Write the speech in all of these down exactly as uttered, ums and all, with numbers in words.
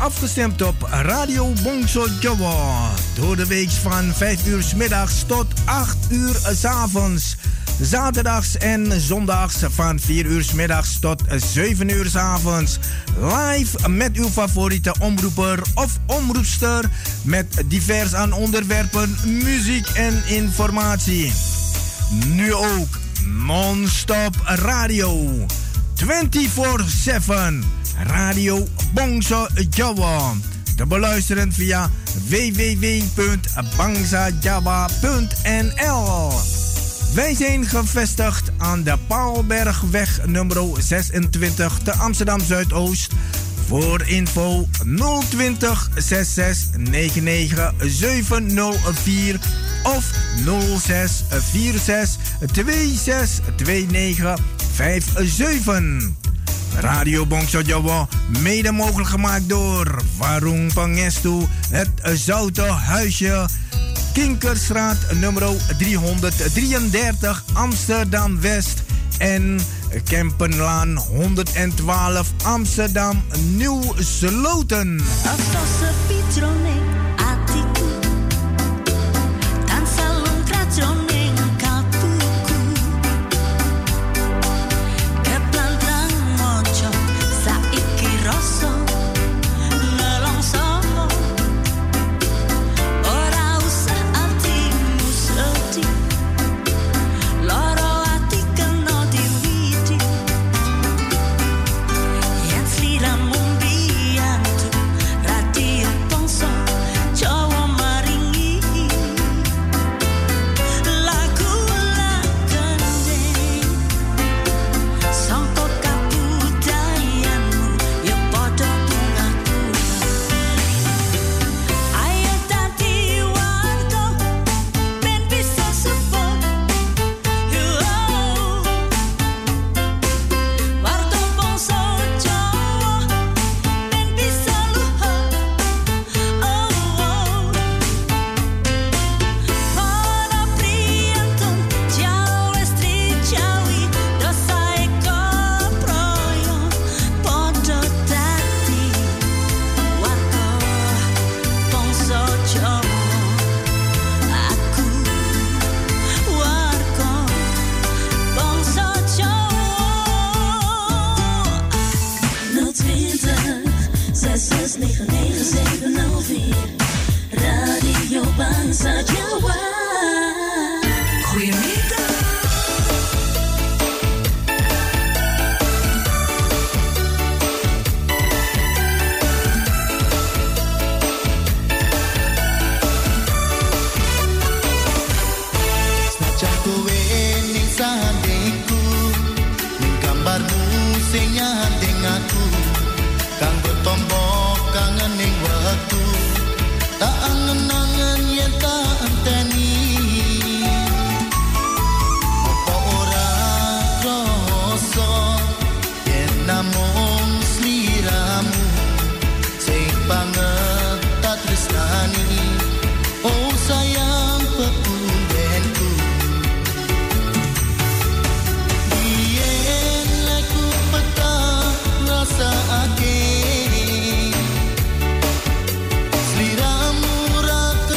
afgestemd op Radio Bongso Jawa. Door de week van vijf uur 's middags tot acht uur 's avonds. Zaterdags en zondags van vier uur 's middags tot zeven uur 's avonds. Live met uw favoriete omroeper of omroepster. Met divers aan onderwerpen, muziek en informatie. Nu ook non-stop radio. vierentwintig zeven. Radio Bongso Jawa. Te beluisteren via w w w punt bangsajawa punt n l. Wij zijn gevestigd aan de Paalbergweg nummer zesentwintig te Amsterdam Zuidoost. Voor info nul twintig zesenzestig negenennegentig zevenhonderdvier of nul zes vier zes twee zes twee negen vijf zeven. Radio Bongso Jawa, mede mogelijk gemaakt door Warung Pangestu, het Zoute Huisje, Kinkerstraat nummer driehonderddrieëndertig Amsterdam West en Kempenlaan honderdtwaalf Amsterdam Nieuw Sloten. Seliramu raka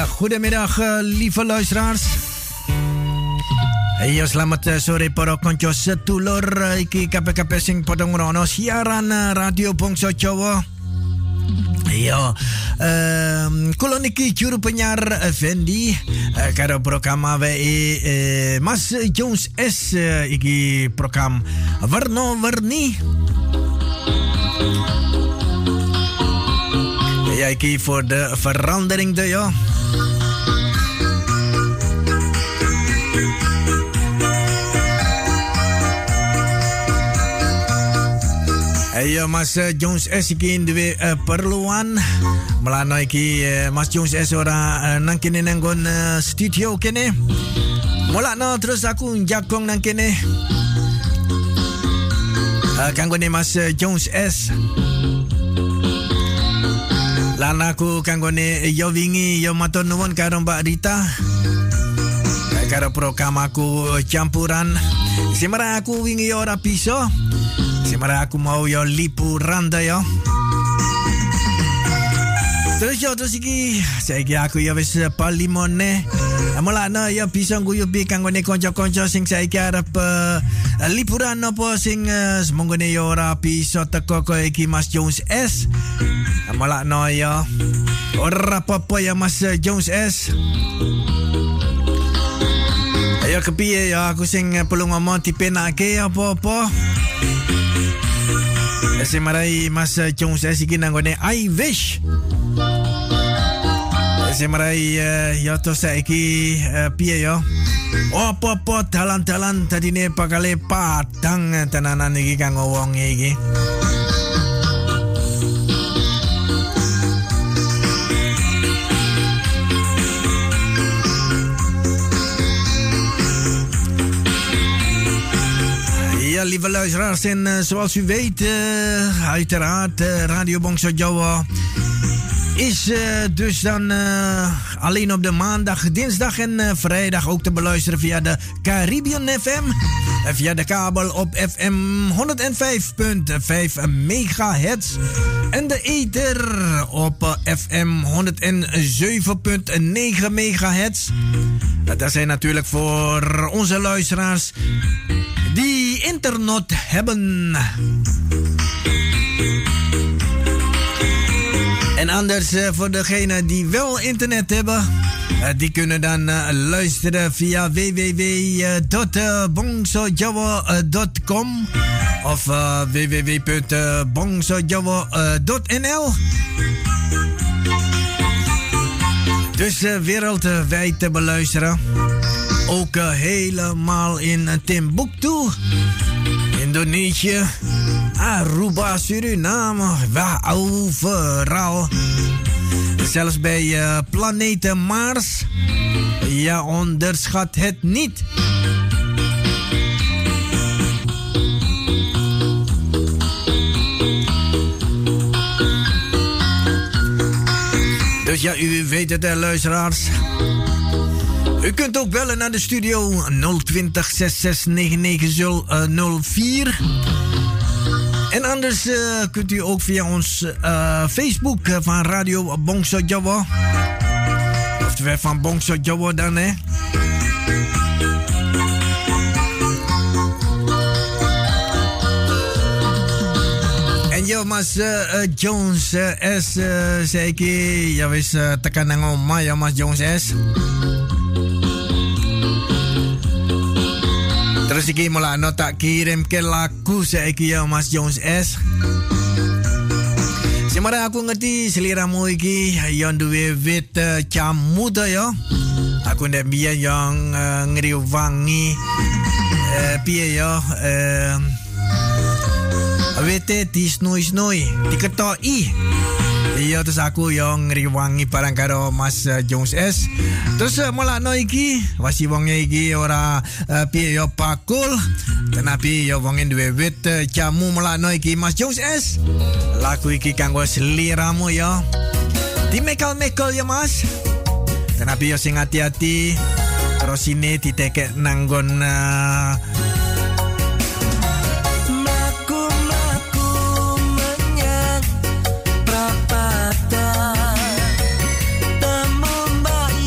goedemiddag, uh, lieve luisteraars. Hey, selamat uh, sore para konco setulur. Uh, iki K P K P sing padha ngrono siaran uh, Radio Bangsa Jawa. Iya, um, kula niki juru penyiar Fendi uh, karo program awe uh, Mas Jones S uh, iki program Warna-Warni. Ja, iki voor de verandering de ja. Ayo Mas Jones S iki duwe uh, perluan melano iki uh, Mas Jones S ora uh, nang kene nang uh, studio kene. Mulakno terus aku jakong nang kene. Uh, kanggo ne Mas Jones S. Lan aku kanggone yo wingi yo matur nuwun karo Mbak Rita. Karo program aku campuran. Semara aku wingi yo ora bisa. Semara aku mau yo liburan da yo. Terus yo terus iki saiki aku yo wis palimone. Mulane yo bisa nguyubi kanggone kanca-kanca sing saiki arep uh, liburan apa sing uh, semonggone yo ora bisa teko koyo iki Mas Jones S. Malah no ya. Ora apa-apa ya Mas Jones S. Ayo kepiye ya aku sing perlu ngomong dipenake apa-apa. Ese marai Mas Jones S iki nanggone I wish. Ese marai uh, ya to saiki uh, piye ya. Apa-apa dalan-dalan tadine bakale padang tenanan iki kanggo wong iki. Ja, lieve luisteraars, en uh, zoals u weet, uh, uiteraard, uh, Radio Bangsa Jawa is uh, dus dan uh, alleen op de maandag, dinsdag en uh, vrijdag ook te beluisteren via de Caribbean F M. Uh, via de kabel op F M honderd vijf komma vijf megahertz. En de ether op uh, F M honderdzeven komma negen megahertz. Uh, dat zijn natuurlijk voor onze luisteraars die internet hebben. En anders uh, voor degenen die wel internet hebben, uh, die kunnen dan uh, luisteren via w w w punt bongsojawa punt com of uh, w w w punt bongsojawa punt n l. Dus uh, wereldwijd te beluisteren. Ook uh, helemaal in Timbuktu, Indonesië, Aruba, Suriname, waar overal. Zelfs bij uh, planeet Mars. Ja, onderschat het niet. Dus ja, u weet het, luisteraars. U kunt ook bellen naar de studio nul twintig zes zes negen negen nul vier. En anders uh, kunt u ook via ons uh, Facebook van Radio Bangsa Jawa. Oftewel van Bangsa Jawa dan, hè. En yo, Mas uh, Jones uh, S, uh, zei ik, ja, wis uh, tekan nang oma ya Mas Jones S. Terus iki mulane tak kirim ke lagu saiki ya Mas Jones S. Semara aku ngerti seliramu iki yang duwe wit uh, camuda ya. Aku ndak biyen yang uh, ngriwangi uh, piye ya uh, wit di snoi-snoi diketoki. Iya, terus aku yang ngriwangi barang karo Mas uh, Jones S. Terus uh, mulakno iki wasi wonge iki ora uh, piye yo pakul. Tenapi yo wonge duwe wit uh, jamu mulakno iki Mas Jones S. Lagu iki kanggo seliramu yo. Dimekal-mekal ya Mas. Tenapi yo sing hati-hati. Terus ini ditekek nanggon uh, Temu mbak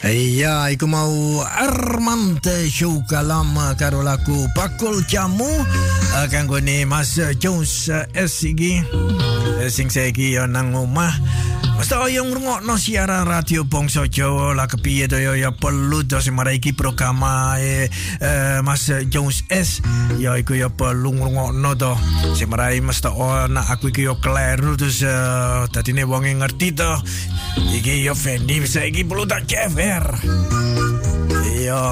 Ja, ik mau Armand Shukalam karo lagu Bakul Jamu kanggo ne Mas Jones S iki sing saiki yo nang omah. Mas oyong ngrungokno siaran radio Bangsa Jawa la kepiye to yo ya perlu to semara iki program eh, eh, Mas Jones S ya iku ya perlu ngrungokno to semara Mas to ana aku iki yo kleru terus uh, dadine wong ngerti to iki yo Fendi bisa iki perlu tak cever iya.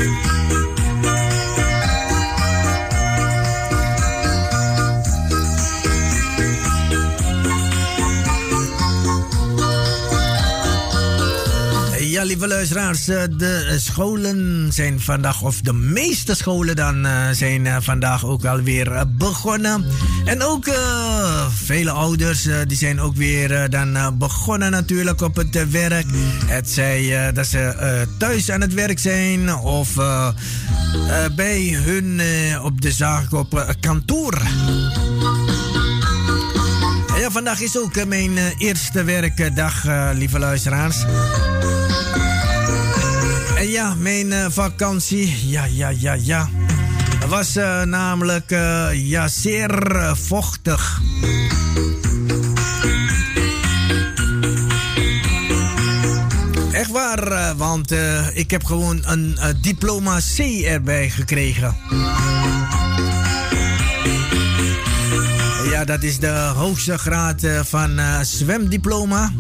Ja, lieve luisteraars, de scholen zijn vandaag, of de meeste scholen dan, zijn vandaag ook alweer begonnen. En ook uh, vele ouders, uh, die zijn ook weer uh, dan uh, begonnen natuurlijk op het uh, werk. Het zij uh, dat ze uh, thuis aan het werk zijn of uh, uh, bij hun uh, op de zaak op uh, kantoor. Ja, vandaag is ook uh, mijn uh, eerste werkdag, uh, lieve luisteraars. En ja, mijn uh, vakantie, ja, ja, ja, ja, was uh, namelijk uh, ja, zeer uh, vochtig. Echt waar, uh, want uh, ik heb gewoon een uh, diploma C erbij gekregen. Ja, dat is de hoogste graad uh, van uh, zwemdiploma.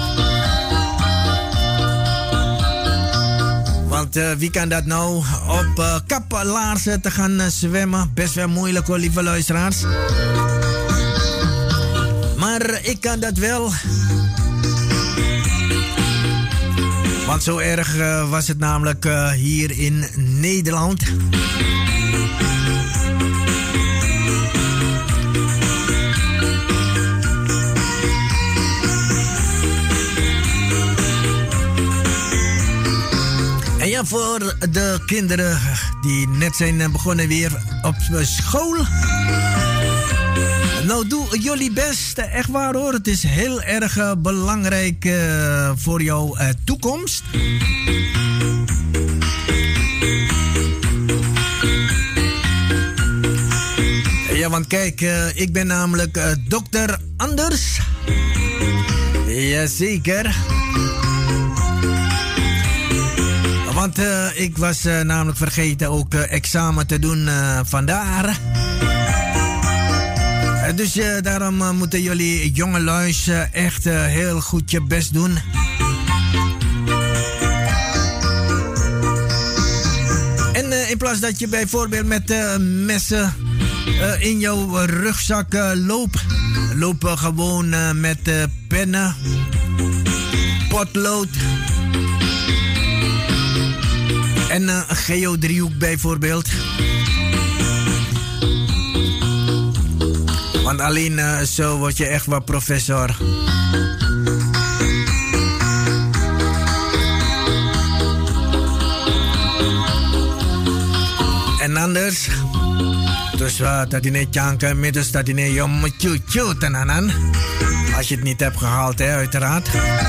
Want uh, wie kan dat nou op uh, kaplaarzen te gaan uh, zwemmen? Best wel moeilijk hoor, lieve luisteraars. Maar ik kan dat wel. Want zo erg uh, was het namelijk uh, hier in Nederland. En ja, voor de kinderen die net zijn begonnen weer op school. Nou, doe jullie best. Echt waar hoor. Het is heel erg uh, belangrijk uh, voor jouw uh, toekomst. Ja, want kijk, uh, ik ben namelijk uh, dokter Anders. Jazeker. Want uh, ik was uh, namelijk vergeten ook uh, examen te doen uh, vandaar. Uh, dus uh, daarom uh, moeten jullie jongeluis uh, echt uh, heel goed je best doen. En uh, in plaats dat je bijvoorbeeld met uh, messen uh, in jouw rugzak uh, loopt, loop uh, gewoon uh, met uh, pennen, potlood. En uh, een geodriehoek bijvoorbeeld. Want alleen uh, zo word je echt wel professor. En anders, dus wat dat in het janken middels dat in het jom tjoe tenanan. Als je het niet hebt gehaald, hè, uiteraard.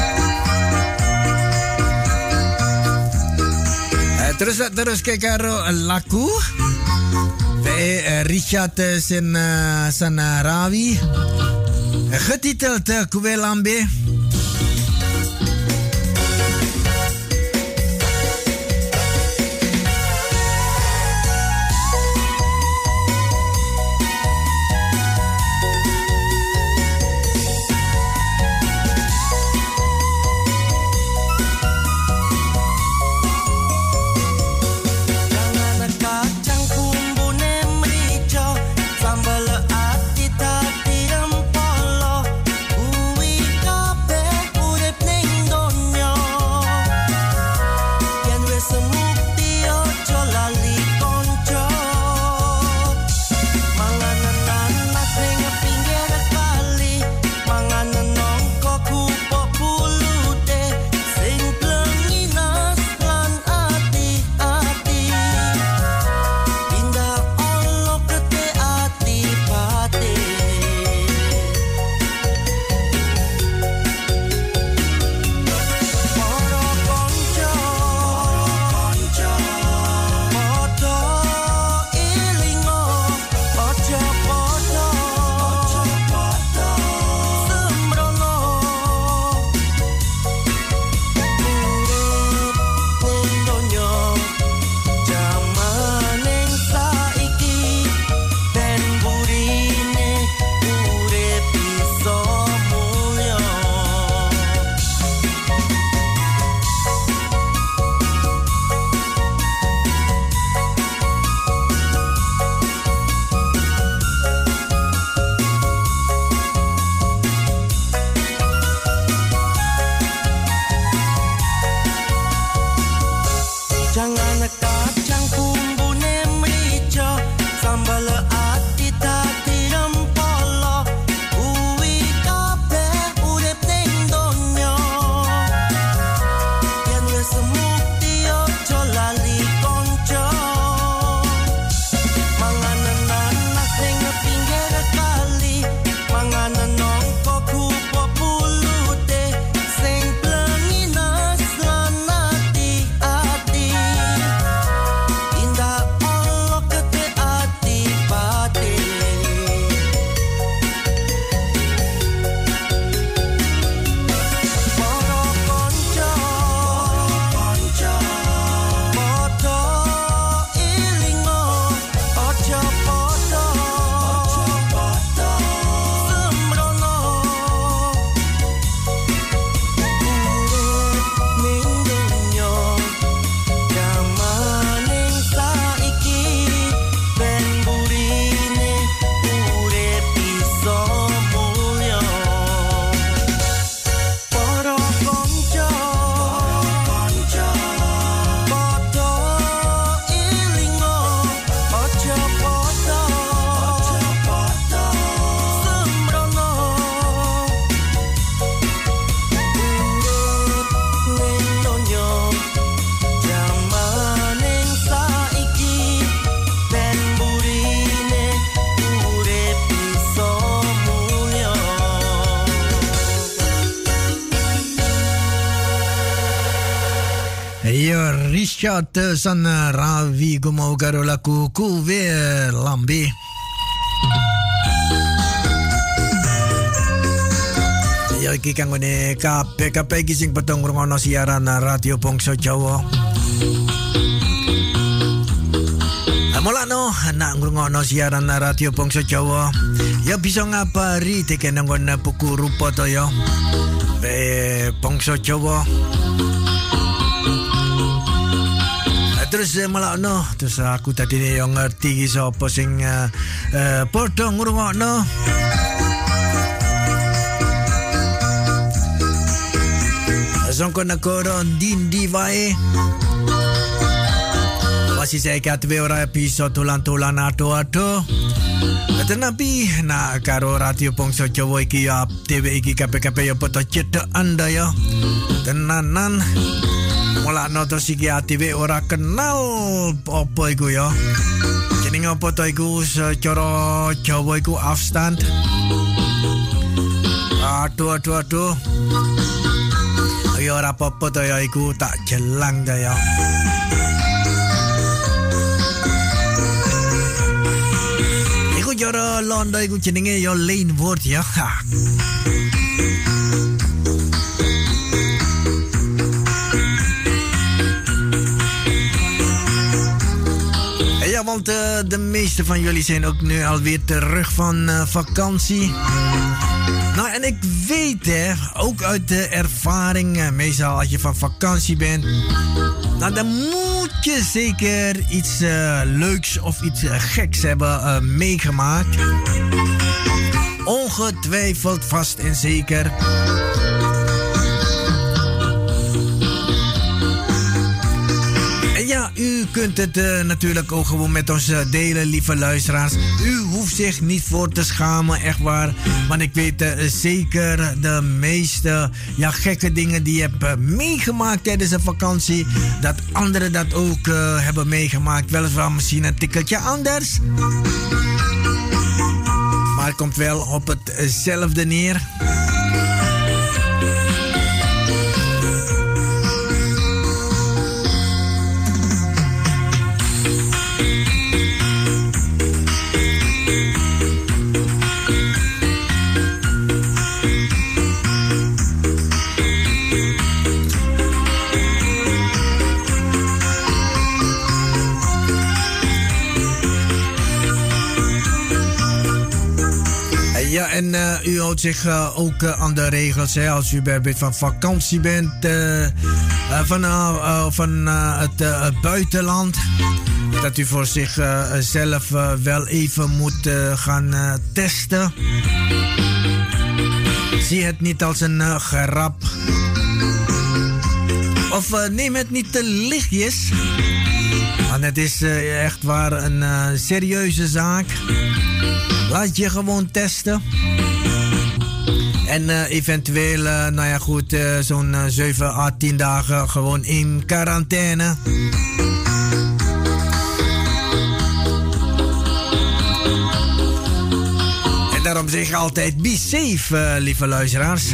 Terus terus ke karo laku bij Richard Sen Sanarawi getiteld Kuwelambe. Sambal ati tati empolo, uwi kape yo Richard san Ravi gumo karo lagu kuwe lambe. Ya iki kanggone kabeh-kabeh iki sing padha ngrungokno siaran Radio Bangsa Jawa. Mulakno nak ngrungokno siaran Radio Bangsa Jawa. Ya bisa ngabari tekene nggon buku rupa to ya. Be Bangsa Jawa. Terus mulakno terus aku tadi yo ngerti sapa sing uh, uh, padha ngrungokno. Zonko nakoro dindi wae. Masih saya kat ora bisa tulan-tulan ado-ado. Tetapi nak karo Radio Bangsa Jawa iki ya T V iki kabeh-kabeh ya poto cedek anda ya. Tenanan. Mulakno terus iki T V ora kenal apa iku ya. Jenenge apa to iku secara Jawa iku afstand. Aduh aduh aduh. Ya ora apa-apa to ya iku tak jelang to ya. Iku jara Londo iku jenenge ya Lane Ward ya. Ja, want uh, de meeste van jullie zijn ook nu alweer terug van uh, vakantie. Nou, en ik weet, hè, ook uit de ervaring, uh, meestal als je van vakantie bent, nou, dan moet je zeker iets uh, leuks of iets uh, geks hebben uh, meegemaakt. Ongetwijfeld, vast en zeker. Ja, u kunt het uh, natuurlijk ook gewoon met ons uh, delen, lieve luisteraars. U hoeft zich niet voor te schamen, echt waar. Want ik weet uh, zeker de meeste ja, gekke dingen die je hebt uh, meegemaakt tijdens een vakantie. Dat anderen dat ook uh, hebben meegemaakt. Weliswaar misschien een tikkeltje anders. Maar het komt wel op hetzelfde neer. Ja, en uh, u houdt zich uh, ook uh, aan de regels. Hè, als u bijvoorbeeld van vakantie bent, uh, uh, van, uh, uh, van uh, het uh, buitenland. Dat u voor zichzelf uh, uh, wel even moet uh, gaan uh, testen. Zie het niet als een uh, grap. Of uh, neem het niet te lichtjes. Want het is uh, echt waar een uh, serieuze zaak. Laat je gewoon testen. En uh, eventueel, uh, nou ja goed, uh, zo'n uh, zeven à tien dagen gewoon in quarantaine. En daarom zeg ik altijd, be safe, uh, lieve luisteraars.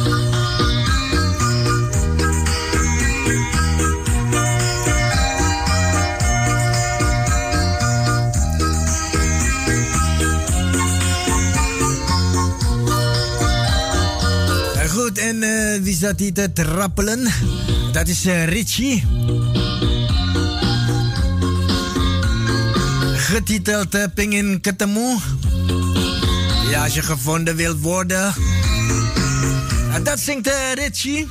En uh, wie staat hier te trappelen? Dat is uh, Richie. Getiteld uh, Pingin Ketemu. Ja, als je gevonden wilt worden. En dat zingt uh, Richie.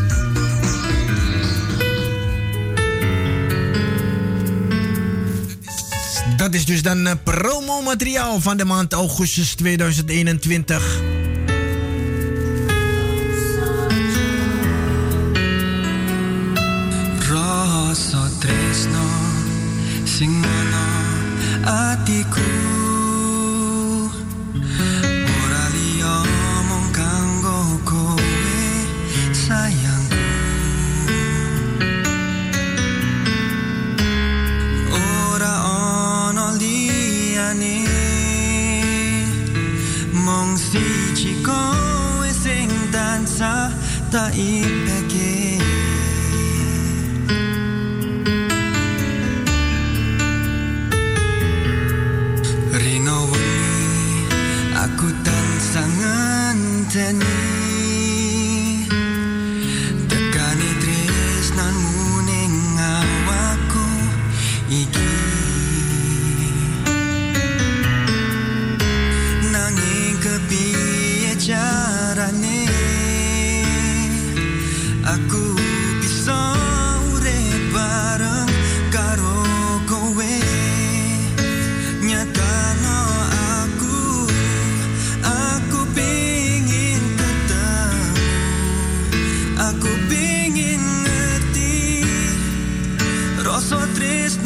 Dat is dus dan uh, promomateriaal van de maand augustus tweeduizend eenentwintig. Tresno sing mana atiku ora liya mung kanggo kowe sayangku ora ono liyane mung siji kowe sing tansah tak ipeke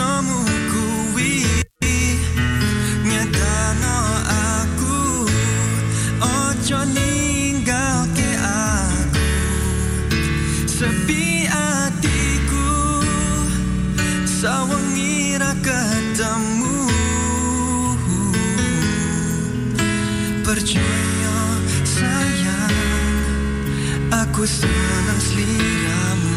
tresnomu kuwi nyedano aku ojo ninggalke aku sepi atiku sawengi ra ketemu percaya sayang aku senang seliramu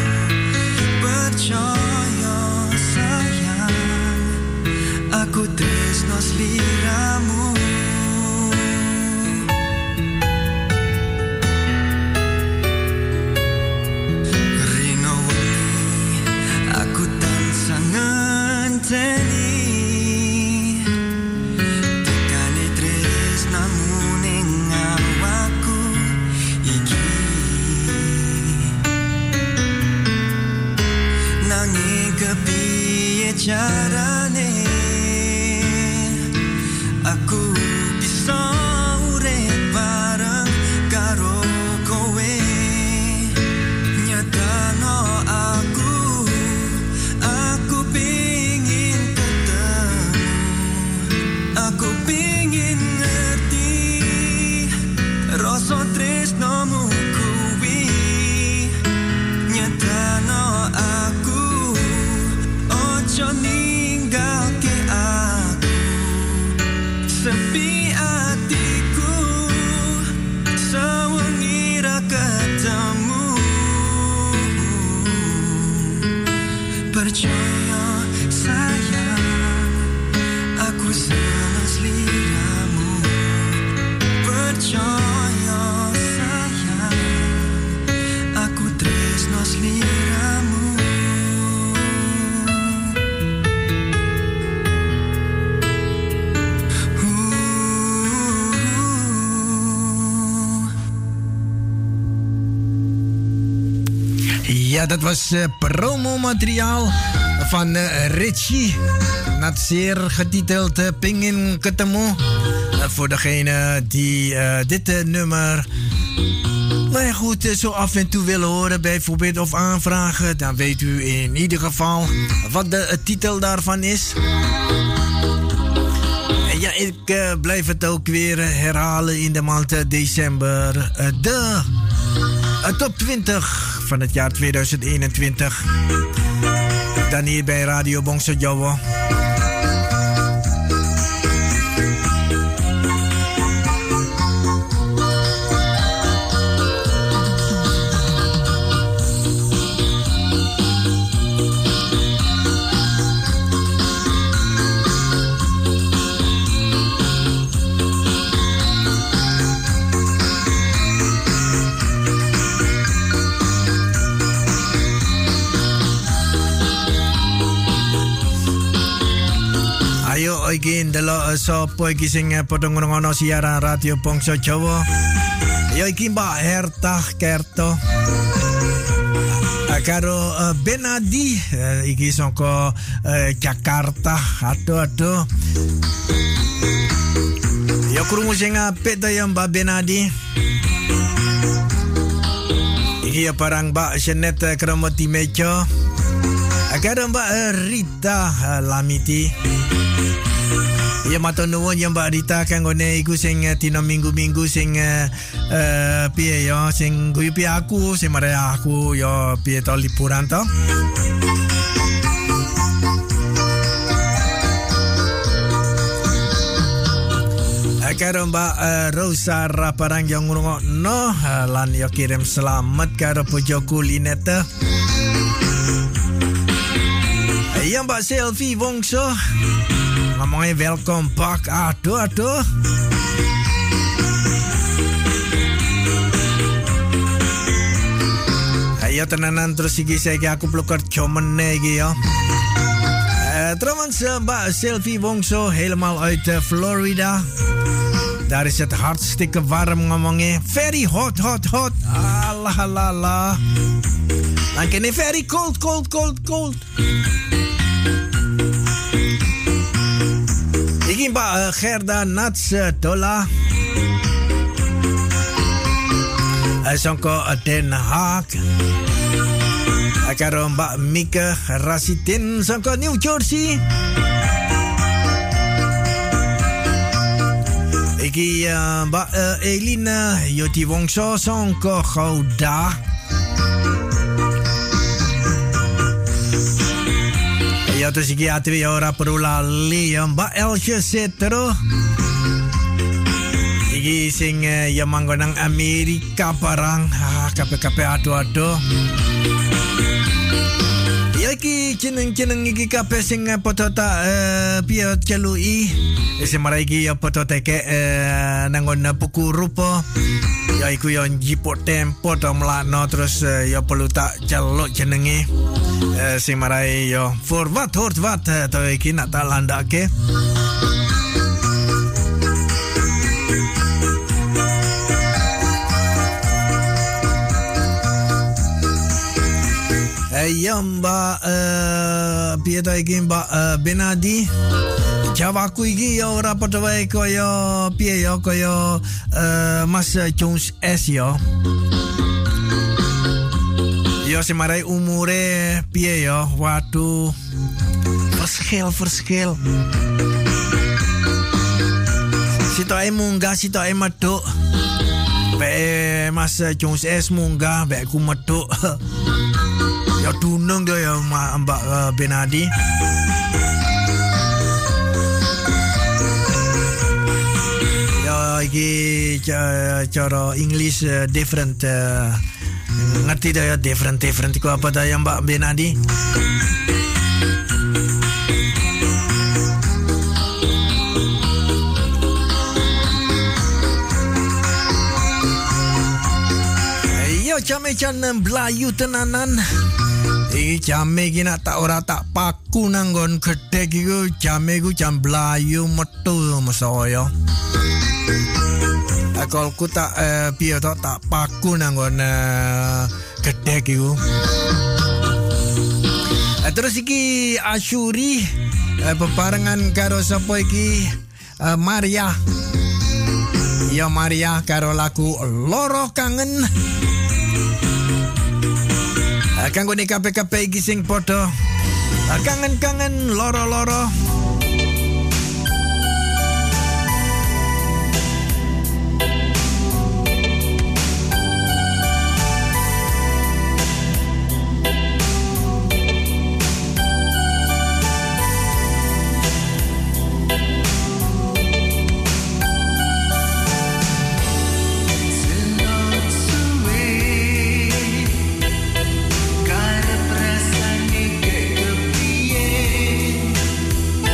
percaya sayang aku tresno seliramu rino wengi aku tansah ngenteni carane aku bisa urip bareng karo kowe nyatano aku aku pingin ketemu aku pingin ngerti rasa tresnomu kuwi nyatano aku ojo ninggalke aku sepi atiku sawengi ra ketemu percaya sayang aku senang seliramu percaya sayang aku tresno seliramu. Ja, dat was uh, promomateriaal van uh, Richie. Net zeer getiteld uh, Pingin Ketemu. Uh, voor degene die uh, dit uh, nummer nou ja, goed, uh, zo af en toe willen horen bijvoorbeeld of aanvragen. Dan weet u in ieder geval wat de uh, titel daarvan is. En ja, ik uh, blijf het ook weer uh, herhalen in de maand uh, december. Uh, de uh, top twintig van het jaar tweeduizend eenentwintig. Dan hier bij Radio Bongso Jawa. Iki ndelo sapa iki sing padha ngono siaran Radio Bongso Jawa. Ya iki Mbak Herta Kerto. Karo uh, Benadi uh, iki saka uh, Jakarta. Aduh aduh. Ya krungu sing apik ta ya Mbak Benadi. Iki ya parang Mbak Senet uh, Kromoti Mejo. Karo Mbak uh, Rita uh, Lamiti. Ya matur nuwun ya Mbak Rita kanggone iku sing uh, dina minggu-minggu sing uh, uh, piye ya sing guyu piye aku sing mare aku ya piye to liburan to. Karo Mbak uh, Rosa Raparang yang ngrungokno uh, lan ya kirim selamat karo bojoku Linete. Ya Mbak Selvi Wongso ngomongnya welcome back. Aduh aduh. Ayo tenanan terus iki saiki aku perlu kerja meneh iki ya. Uh, trouwens Mbak Selvi Wongso helemaal uit uh, Florida. Daar is het hartstikke warm ngomongnya. Very hot hot hot. Allah Allah Allah. Dan kene very cold cold cold cold. Iki Mbak Gerda Nats Dola Songko Den Haag karo Mbak Mika Rasitin saka New Jersey. Iki uh, Mbak uh, Elina Yoti Wongso saka Gouda. Ya terus iki atri ora perlu lali ya Mbak Elsie Setro. Iki sing uh, ya manggon nang Amerika barang ah, kape-kape ado-ado. Ya iki jeneng-jeneng iki kabeh sing padha tak uh, piye celui. Isi marai iki ya padha teke uh, nangon buku rupa. Ya iku ya njipuk tempo to mlakno terus uh, ya perlu tak celuk jenenge. Uh, sing marai ya for what hort what uh, to iki nak tak landake. Ya Mbak uh, piye ta iki Mbak uh, Benadi Jawaku iki ya ora padha wae kaya piye ya kaya uh, Mas Jones S ya. Ya semarai umure piye ya. Waduh. Verschil verschil. Sitoke munggah sitoke medhuk. Be Mas Jones S munggah be ku medhuk. Ya dunung dia ya Mbak uh, Benadi. Ya iki cara English uh, different uh, ngerti dah ya different different ku apa dah ya Mbak Benadi. Yo jame-jame Melayu tenanan. Iki jame iki nak tak ora tak paku nanggon gedhe iku jame iku jam Melayu metu mesaya. Akolku tak uh, piye to tak paku nanggon uh, gedhe iku. Uh, terus iki Asyuri uh, bebarengan karo sapa iki uh, Maria. Ya Maria karo lagu Loro Kangen. Kanggo nek kabeh-kabeh iki sing padha kangen-kangen loro-loro. Karep rasane kekepiye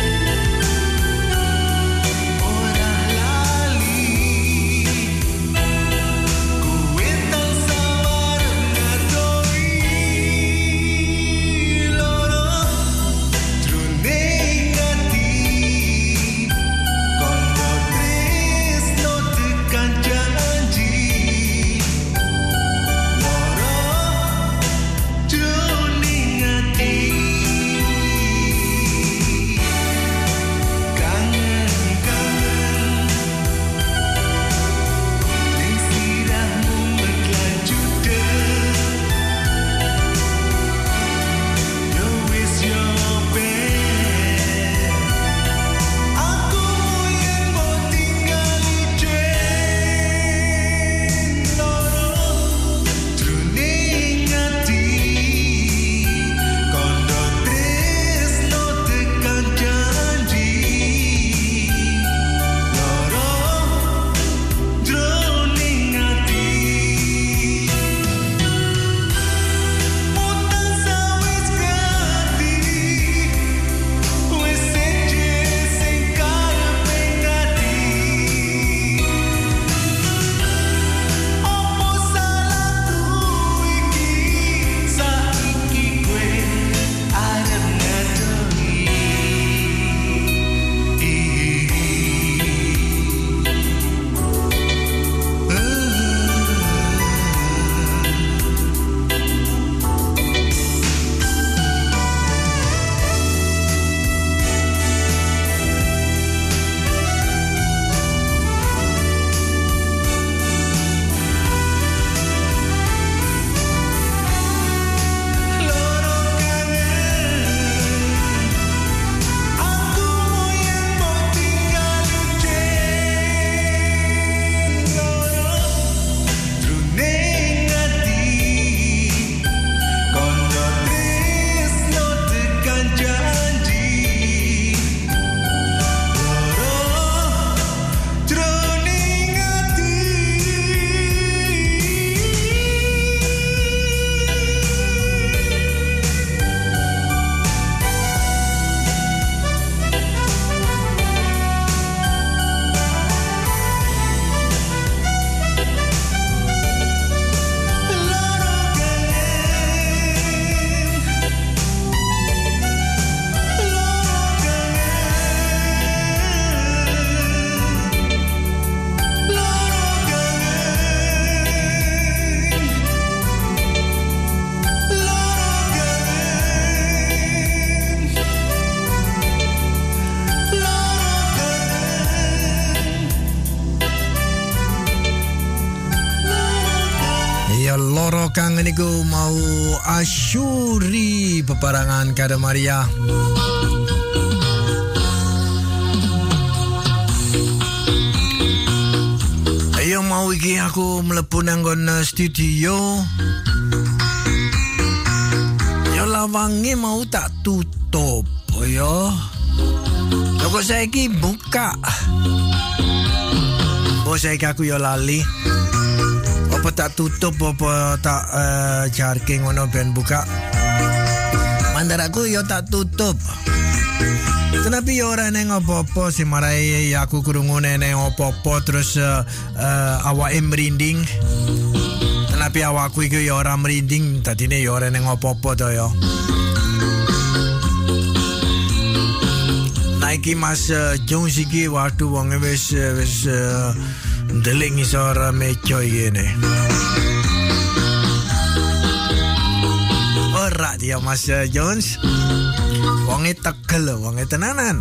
kangen iku mau asyuri peparangan kada Maria. Ayo mau iki aku mlebu nang studio. Yo lawange mau tak tutup yo. Kok saiki buka. Oh saiki aku yo lali. Apa tak tutup apa tak uh, jarke ngono ben buka. Mandar aku yo tak tutup. Kenapa yo ora neng apa-apa sih marai aku krungu neng apa-apa terus uh, uh, awake merinding. Kenapa awakku iki yo ora merinding tadine yo ora neng apa-apa to yo. Naiki Mas uh, Jones iki waktu wong wis wis uh, ndelik ngisor mejo ngene. Ora dia Mas uh, Jones. Wonge tegel, wonge tenanan.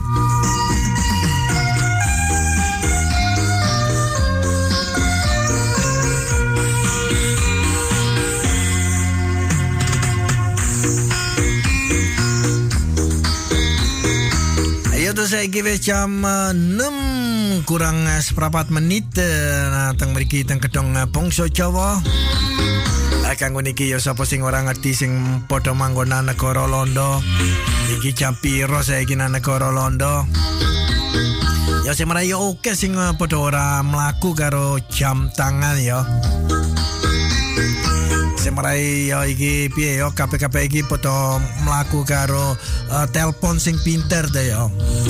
Ayo tuh saya kira jam enam kurang seperempat menit. Nah, teng mriki teng kedong Bangsa Jawa. Kanggo niki ya sapa sing ora ngerti sing padha manggon nang negara Londo. Iki jam piro saiki nang negara Londo? Ya sing mrene yo oke sing padha ora mlaku karo jam tangan ya. Sing mrene yo iki piye yo kabeh-kabeh iki padha mlaku karo uh, telepon sing pinter ta ya.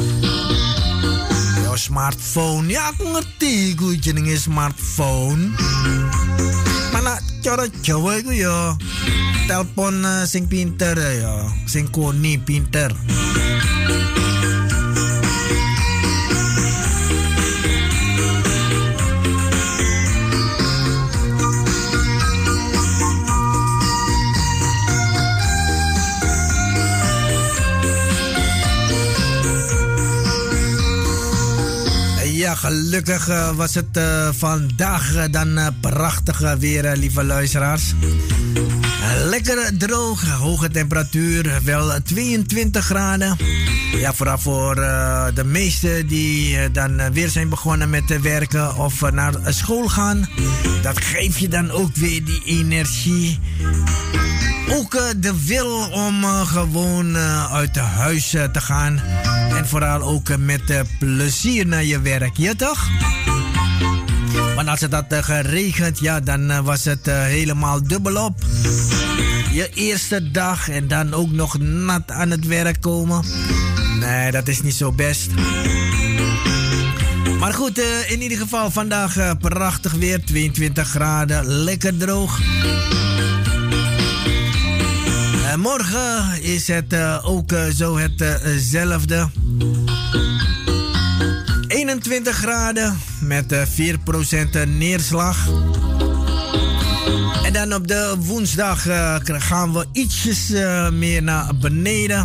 Yo smartphone ya aku ngerti ku jenenge smartphone. Mana cara Jawa iku ya telepon uh, sing pinter ya, sing koni pinter. Ja, gelukkig uh, was het uh, vandaag uh, dan uh, prachtig uh, weer, uh, lieve luisteraars. Uh, lekker droog, hoge temperatuur, wel tweeëntwintig graden. Ja, vooral voor uh, de meesten die uh, dan uh, weer zijn begonnen met uh, werken of uh, naar uh, school gaan. Dat geeft je dan ook weer die energie. Ook uh, de wil om uh, gewoon uh, uit huis uh, te gaan. En vooral ook uh, met uh, plezier naar je werk, ja toch? Want als het had uh, geregend, ja, dan uh, was het uh, helemaal dubbelop. Je eerste dag en dan ook nog nat aan het werk komen. Nee, dat is niet zo best. Maar goed, uh, in ieder geval vandaag uh, prachtig weer, tweeëntwintig graden, lekker droog. Uh, morgen is het uh, ook uh, zo hetzelfde. Uh, eenentwintig graden met uh, vier procent neerslag. En dan op de woensdag uh, gaan we ietsjes uh, meer naar beneden.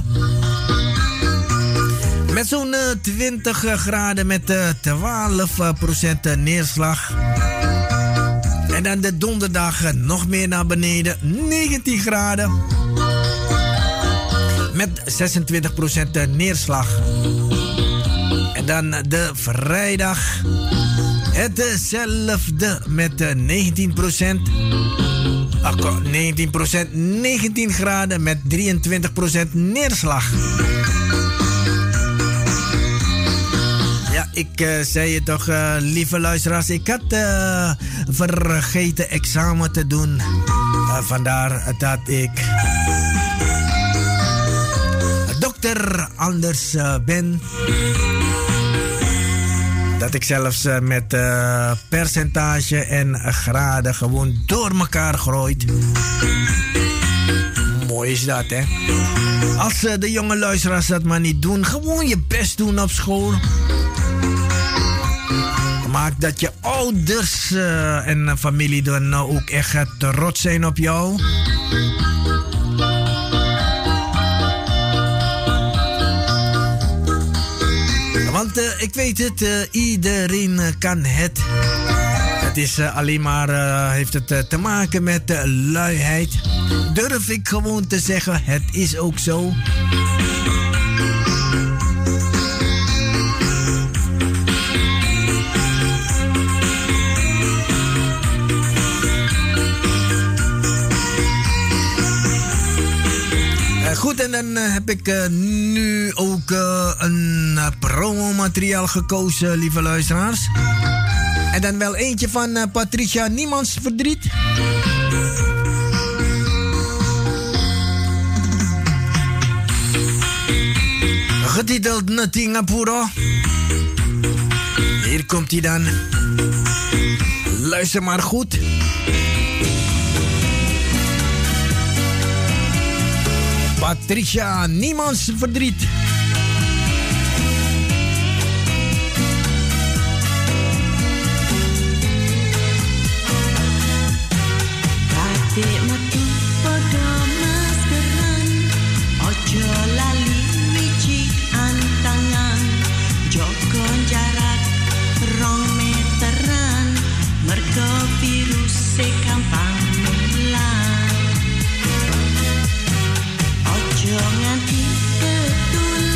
Met zo'n uh, twintig graden met uh, twaalf procent neerslag. En dan de donderdag uh, nog meer naar beneden, negentien graden. Met zesentwintig procent neerslag. En dan de vrijdag. Hetzelfde met negentien procent. Ach, negentien procent, negentien graden met drieëntwintig procent neerslag. Ja, ik uh, zei je toch, uh, lieve luisteraars. Ik had uh, vergeten examen te doen. Uh, vandaar dat ik dokter anders uh, ben. Dat ik zelfs uh, met uh, percentage en uh, graden gewoon door elkaar groeit. Mooi is dat, hè? Als uh, de jonge luisteraars dat maar niet doen, gewoon je best doen op school. Maak dat je ouders uh, en uh, familie dan uh, ook echt uh, trots zijn op jou. Want uh, ik weet het, uh, iedereen uh, kan het. Het Het is uh, alleen maar, uh, heeft het uh, te maken met uh, luiheid. Durf ik gewoon te zeggen, het is ook zo. Goed, en dan uh, heb ik uh, nu ook uh, een uh, promomateriaal gekozen, lieve luisteraars. En dan wel eentje van uh, Patricia Niemands Verdriet. Getiteld Natingapuro. Hier komt hij dan. Luister maar goed. Patricia Niemands Verdriet. Adik metu podo maskeran, ojo lali wiji antangan, joko jarak rong meteran, mergo virus e gampang nular. Ojo nganti ketular.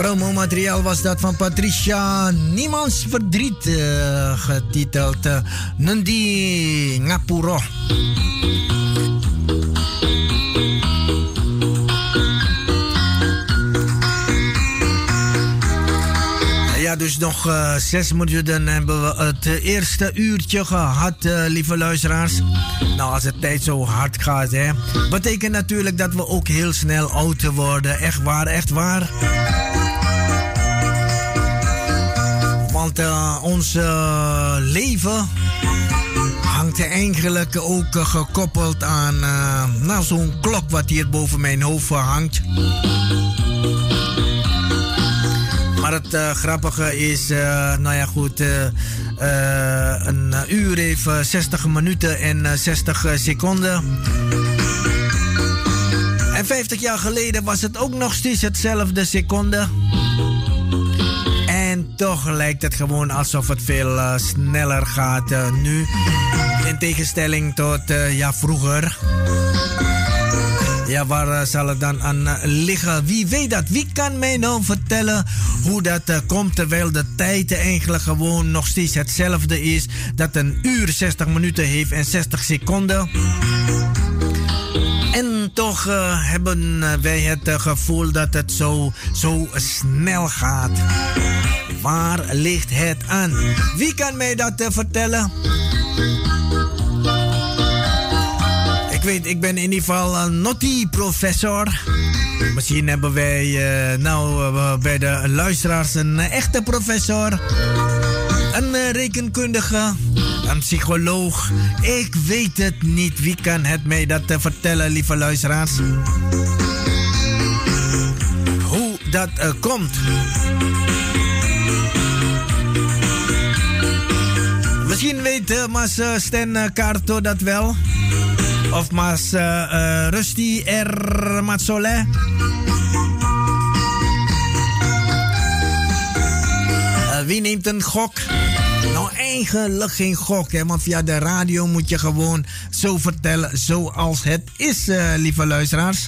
Promomateriaal was dat van Patricia Niemands Verdriet, uh, getiteld uh, Nundi Ngapuro. Ja, dus nog uh, zes minuten hebben we het uh, eerste uurtje gehad, uh, lieve luisteraars. Nou, als het tijd zo hard gaat, hè, betekent natuurlijk dat we ook heel snel oud worden. Echt waar, echt waar. Want uh, ons uh, leven hangt eigenlijk ook uh, gekoppeld aan uh, nou, zo'n klok wat hier boven mijn hoofd hangt. Maar het uh, grappige is, uh, nou ja goed, uh, uh, een uur heeft uh, zestig minuten en uh, zestig seconden. En vijftig jaar geleden was het ook nog steeds hetzelfde seconde. En toch lijkt het gewoon alsof het veel uh, sneller gaat uh, nu. In tegenstelling tot uh, ja, vroeger. Ja, waar uh, zal het dan aan uh, liggen? Wie weet dat? Wie kan mij nou vertellen hoe dat uh, komt terwijl de tijd eigenlijk gewoon nog steeds hetzelfde is? Dat een uur zestig minuten heeft en zestig seconden. En toch uh, hebben wij het uh, gevoel dat het zo, zo snel gaat. Waar ligt het aan? Wie kan mij dat uh, vertellen? Ik weet, ik ben in ieder geval een naughty professor. Misschien hebben wij uh, nou uh, bij de luisteraars een uh, echte professor. Een uh, rekenkundige. Een psycholoog. Ik weet het niet. Wie kan het mij dat uh, vertellen, lieve luisteraars? Hoe dat uh, komt. Misschien weet uh, Mas uh, Sten uh, Kaarto dat wel. Of Mas uh, uh, Rusty R. Matsole. Uh, wie neemt een gok? Nou, eigenlijk geen gok, hè, want via de radio moet je gewoon zo vertellen zoals het is, uh, lieve luisteraars.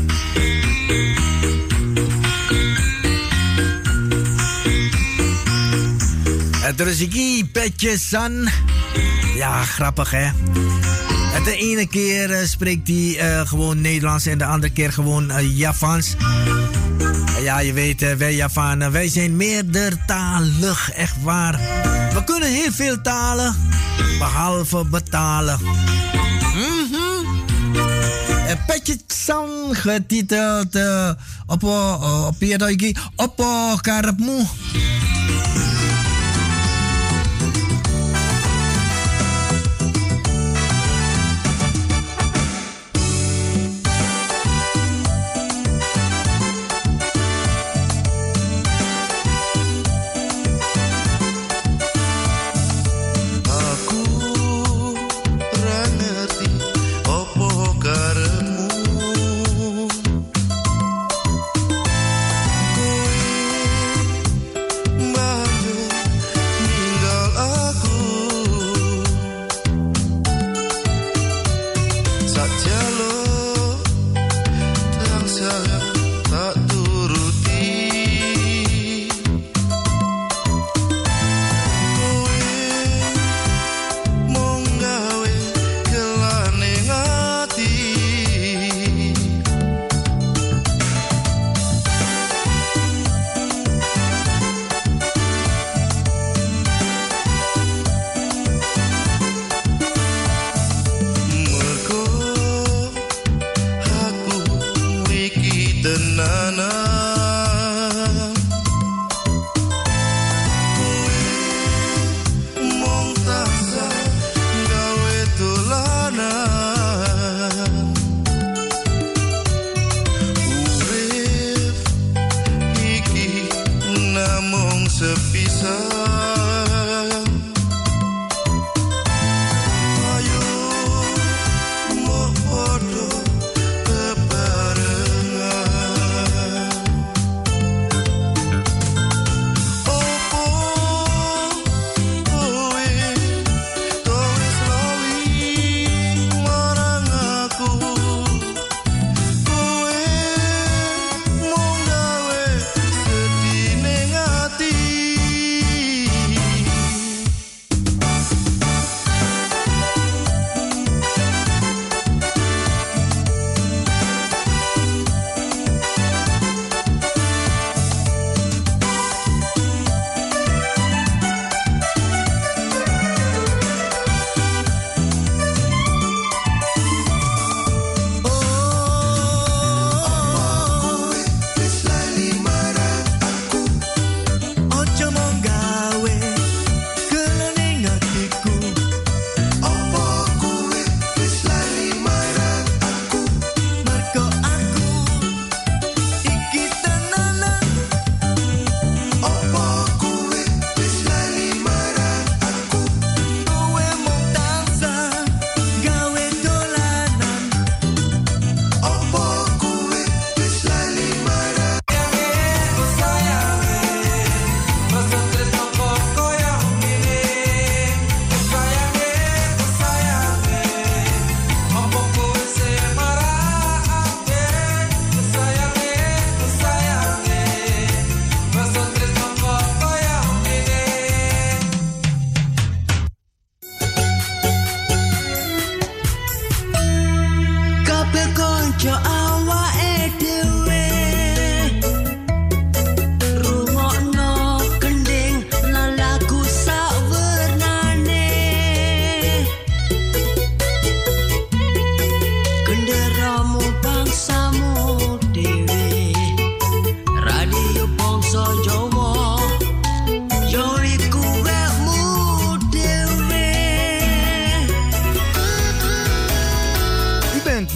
Het Rusiki Petje San. Ja, grappig, hè? De ene keer uh, spreekt hij uh, gewoon Nederlands en de andere keer gewoon uh, Javans. Uh, ja, je weet, uh, wij Javanen, wij zijn meerdertalig, echt waar. We kunnen heel veel talen, behalve betalen. Mm-hmm. Uh, Petje San getiteld uh, op uh, op je op uh, karepmu.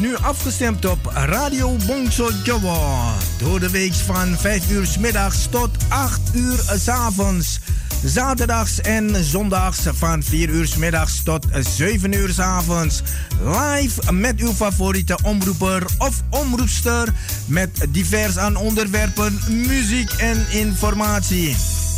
nu afgestemd op Radio Bongso Jawa. Door de week van vijf uur 's middags tot acht uur 's avonds. Zaterdags en zondags van vier uur 's middags tot zeven uur 's avonds. Live met uw favoriete omroeper of omroepster. Met divers aan onderwerpen, muziek en informatie.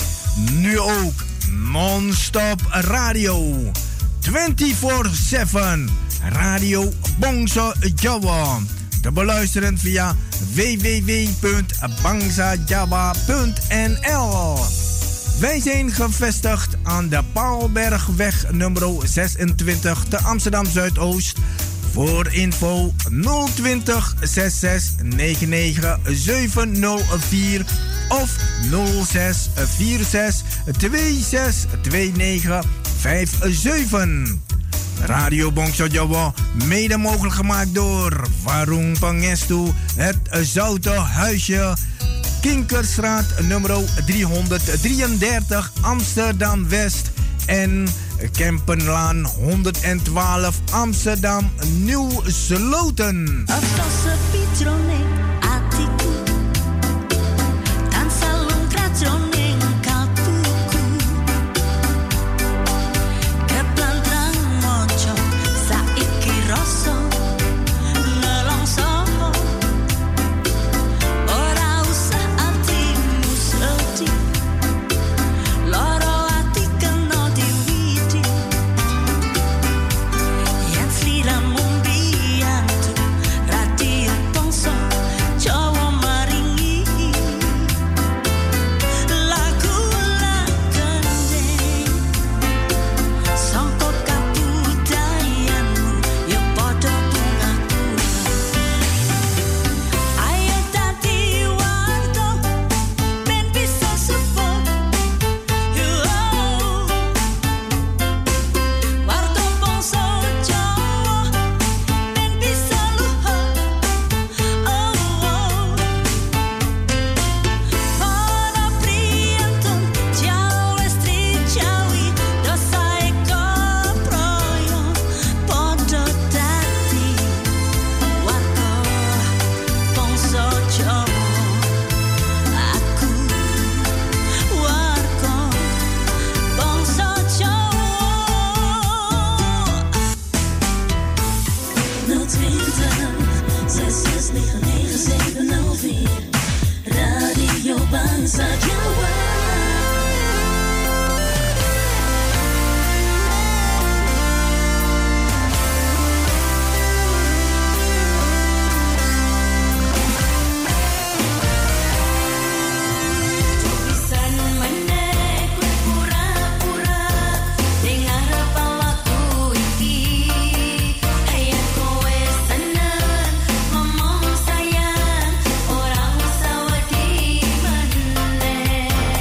Nu ook non-stop radio. vierentwintig zeven. Radio Bongso Jawa. Te beluisteren via w w w punt bangsa jawa punt n l. Wij zijn gevestigd aan de Paalbergweg nummer zesentwintig te Amsterdam Zuidoost. Voor info nul twintig zes zes negen negen zeven nul vier of nul zes vier zes twee zes twee negen vijf zeven. Radio Bongso Jawa, mede mogelijk gemaakt door Warung Pangestu, het Zoute Huisje, Kinkerstraat nummer driehonderddrieëndertig Amsterdam West en Kempenlaan honderdtwaalf Amsterdam Nieuw Sloten. Orang Saudi mana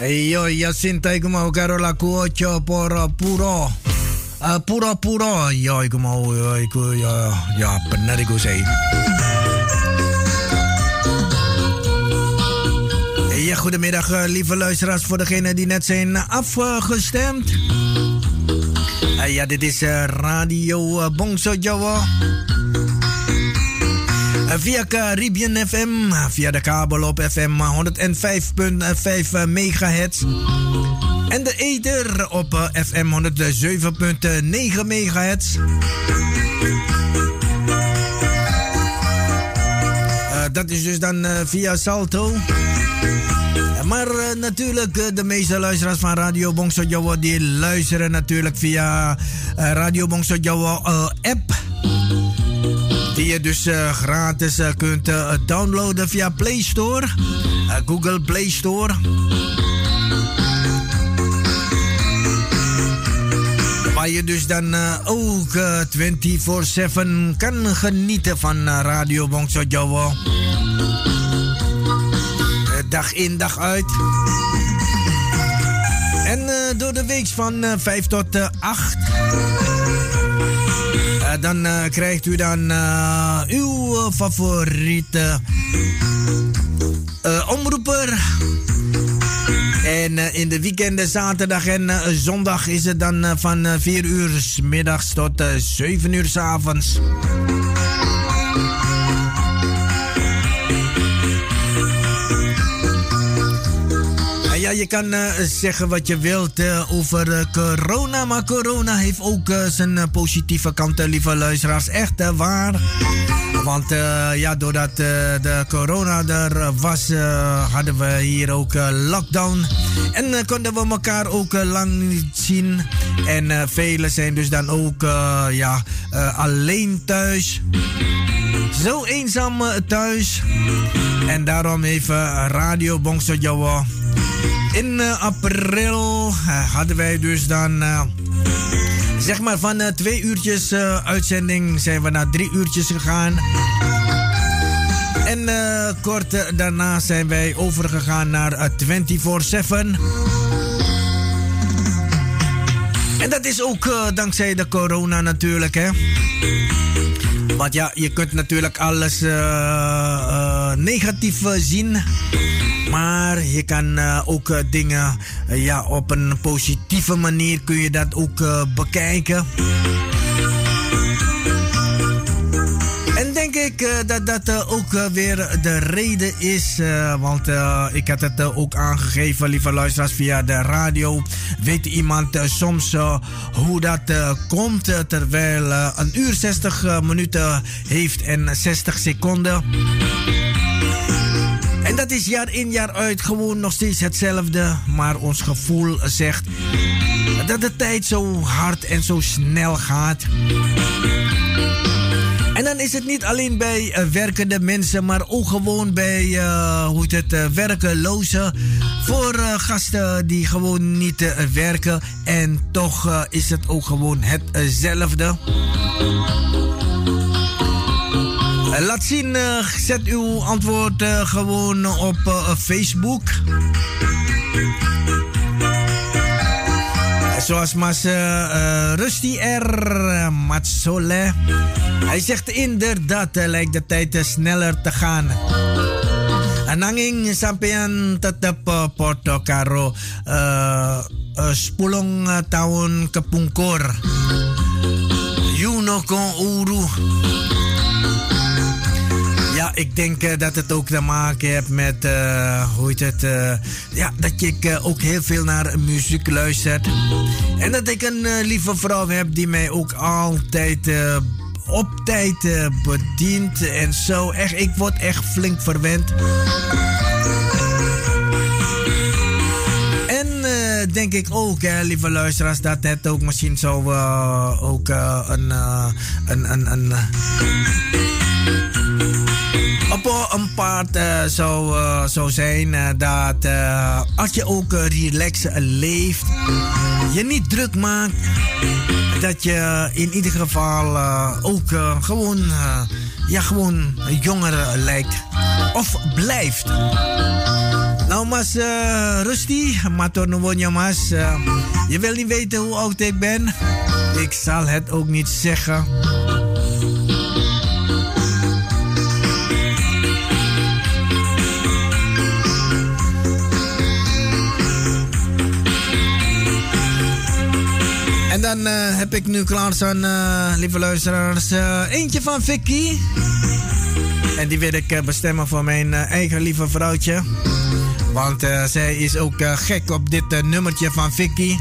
Yo, Jacinta, ik mau Carola Cuocho por puro. Uh, puro puro. Yo, ik mau, ik ja, ja, benar ik zei. Ja, goedemiddag, uh, lieve luisteraars, voor degenen die net zijn afgestemd. Uh, ja, dit is uh, Radio uh, Bongso Jawa. Via Caribbean F M, via de kabel op F M honderdvijf komma vijf megahertz. En de ether op F M honderdzeven komma negen megahertz. Uh, dat is dus dan uh, via Salto. Maar uh, natuurlijk, uh, de meeste luisteraars van Radio Bongso Jawa die luisteren natuurlijk via uh, Radio Bongso Jawa uh, app. Die je dus uh, gratis uh, kunt uh, downloaden via Play Store, uh, Google Play Store. Waar je dus dan uh, ook uh, vierentwintig zeven kan genieten van uh, Radio Bongso Jawa. Uh, dag in, dag uit. En uh, door de week van uh, vijf tot uh, acht. Uh, dan uh, krijgt u dan uh, uw uh, favoriete uh, omroeper. En uh, in de weekenden, zaterdag en uh, zondag is het dan uh, van uh, vier uur 's middags tot uh, zeven uur 's avonds. Ja, je kan uh, zeggen wat je wilt uh, over uh, corona, maar corona heeft ook uh, zijn uh, positieve kanten, lieve luisteraars. Echt uh, waar. Want uh, ja, doordat uh, de corona er was, uh, hadden we hier ook uh, lockdown. En uh, konden we elkaar ook uh, lang niet zien. En uh, velen zijn dus dan ook uh, ja, uh, alleen thuis. Zo eenzaam uh, thuis. En daarom heeft uh, Radio Bongso Jawa in uh, april uh, hadden wij dus dan uh, zeg maar van uh, twee uurtjes uh, uitzending zijn we naar drie uurtjes gegaan. En uh, kort uh, daarna zijn wij overgegaan naar uh, vierentwintig zeven. En dat is ook uh, dankzij de corona natuurlijk, hè. Want ja, je kunt natuurlijk alles uh, uh, negatief uh, zien. Maar je kan uh, ook uh, dingen uh, ja, op een positieve manier kun je dat ook uh, bekijken. En denk ik uh, dat dat uh, ook uh, weer de reden is. Uh, want uh, ik had het uh, ook aangegeven, lieve luisteraars, via de radio. Weet iemand uh, soms uh, hoe dat uh, komt uh, terwijl uh, een uur zestig uh, minuten heeft en zestig seconden. En dat is jaar in jaar uit gewoon nog steeds hetzelfde. Maar ons gevoel zegt dat de tijd zo hard en zo snel gaat. En dan is het niet alleen bij uh, werkende mensen, maar ook gewoon bij uh, hoe het, uh, werkelozen. Voor uh, gasten die gewoon niet uh, werken. En toch uh, is het ook gewoon hetzelfde. Uh, laat zien, uh, zet uw antwoord uh, gewoon op uh, Facebook. Zoals Mas uh, uh, Rusty R. Uh, Matsole. Hij zegt inderdaad, uh, lijkt de tijd uh, sneller te gaan. Nanging sampeyan tetap uh, podo karo uh, uh, sepuluh uh, tahun kepungkur. Yuno kon uru. Ja, ik denk uh, dat het ook te maken heeft met, uh, hoe heet het, uh, ja, dat ik uh, ook heel veel naar muziek luister. En dat ik een uh, lieve vrouw heb die mij ook altijd uh, op tijd uh, bedient en zo. Echt, ik word echt flink verwend. En uh, denk ik ook, hè, lieve luisteraars, dat het ook misschien zo uh, ook uh, een, uh, een, een, een uh, op een paard uh, zou, uh, zou zijn uh, dat uh, als je ook uh, relax leeft, je niet druk maakt, dat je in ieder geval uh, ook uh, gewoon, uh, ja, gewoon jonger lijkt of blijft. Nou, Mas uh, Rusty, mator nuwonja, Mas. Uh, je wil niet weten hoe oud ik ben. Ik zal het ook niet zeggen. En dan uh, heb ik nu klaarstaan, uh, lieve luisteraars, uh, eentje van Vicky. En die wil ik uh, bestemmen voor mijn uh, eigen lieve vrouwtje. Want uh, zij is ook uh, gek op dit uh, nummertje van Vicky.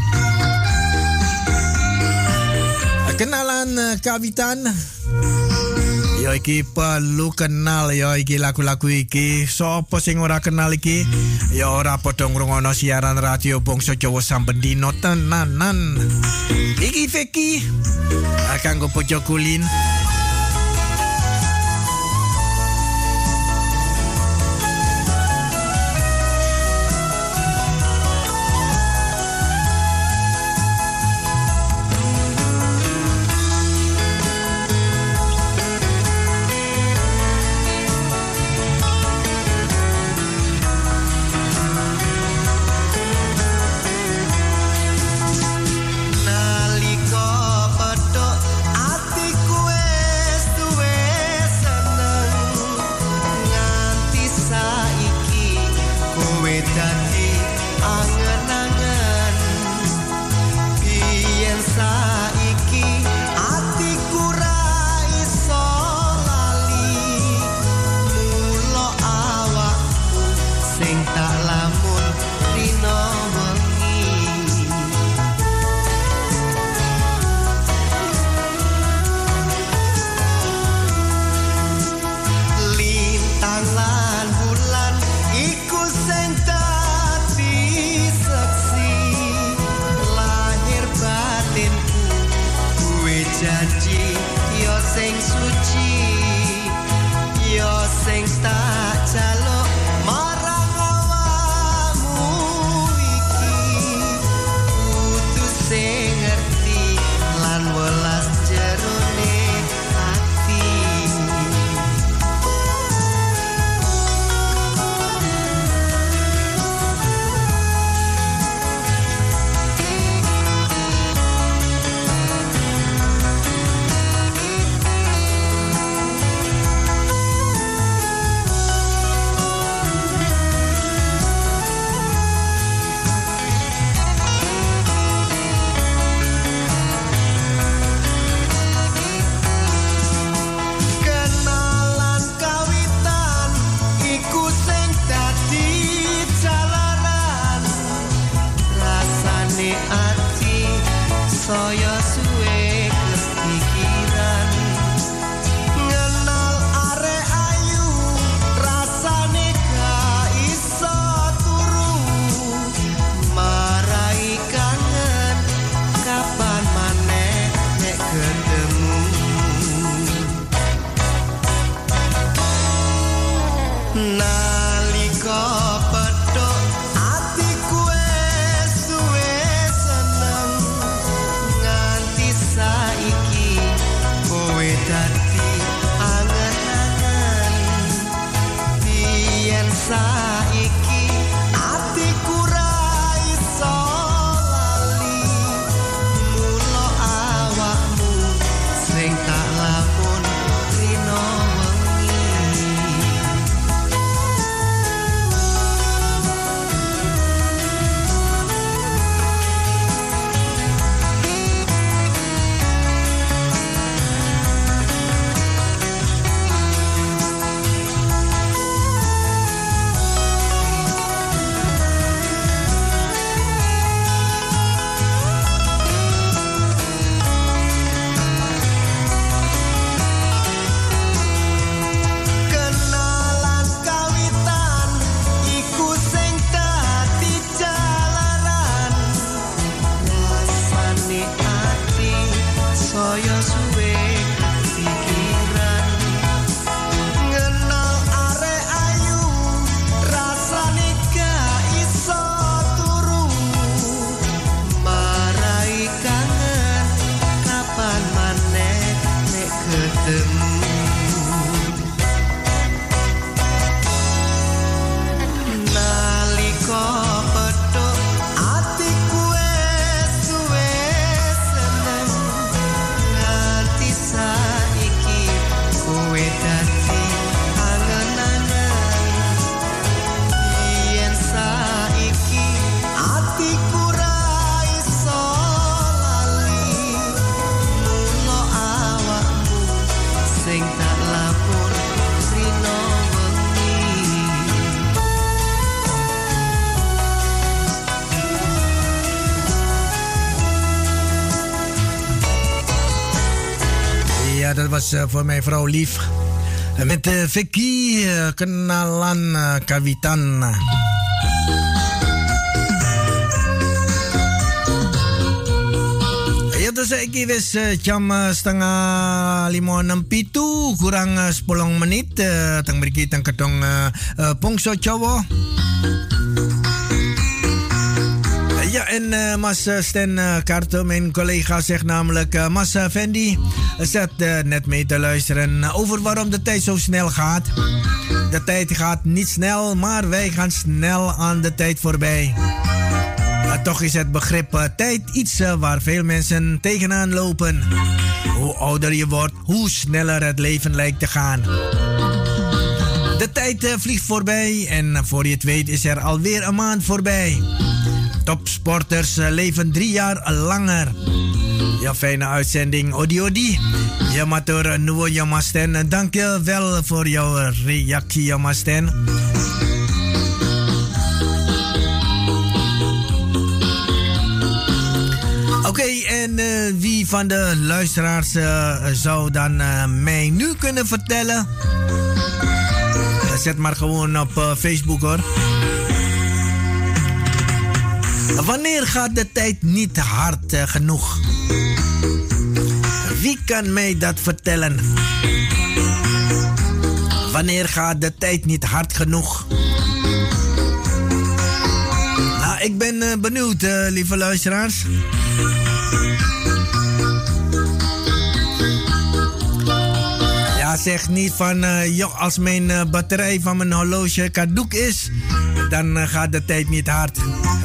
Uh, kenalan uh, Kawitan. Yo iki perlu kenal yo iki lagu-lagu iki. Sopo sing ora kenal iki? Ya ora padha ngrungokno siaran radio Bangsa Jawa saben dina tenanan. Iki Vicky. Kanggo Pojo Kulin. was uh, voor mijn vrouw lief. Uh, met uh, Vicky, uh, kenalan uh, kawitan. Ya tuh saya wis uh, jam uh, setengah lima enam pitu kurang uh, sepuluh menit uh, teng mriki teng kedong uh, uh, Bongso Jawa. Ja, en uh, Mas Sten uh, Karto, mijn collega, zegt namelijk... Uh, Mas uh, Fendi zat uh, net mee te luisteren uh, over waarom de tijd zo snel gaat. De tijd gaat niet snel, maar wij gaan snel aan de tijd voorbij. Uh, toch is het begrip uh, tijd iets uh, waar veel mensen tegenaan lopen. Hoe ouder je wordt, hoe sneller het leven lijkt te gaan. De tijd uh, vliegt voorbij en uh, voor je het weet is er alweer een maand voorbij. Topsporters uh, leven drie jaar langer. Ja, fijne uitzending, Odi Odi. Ja, matur nuwo ja Masten. Dank je wel voor jouw reactie, ja Masten. Oké, okay, en uh, wie van de luisteraars uh, zou dan uh, mij nu kunnen vertellen? Uh, zet maar gewoon op uh, Facebook hoor. Wanneer gaat de tijd niet hard uh, genoeg? Wie kan mij dat vertellen? Wanneer gaat de tijd niet hard genoeg? Nou, ik ben uh, benieuwd, uh, lieve luisteraars. Ja, zeg niet van, uh, joh, als mijn uh, batterij van mijn horloge caduc is, dan uh, gaat de tijd niet hard.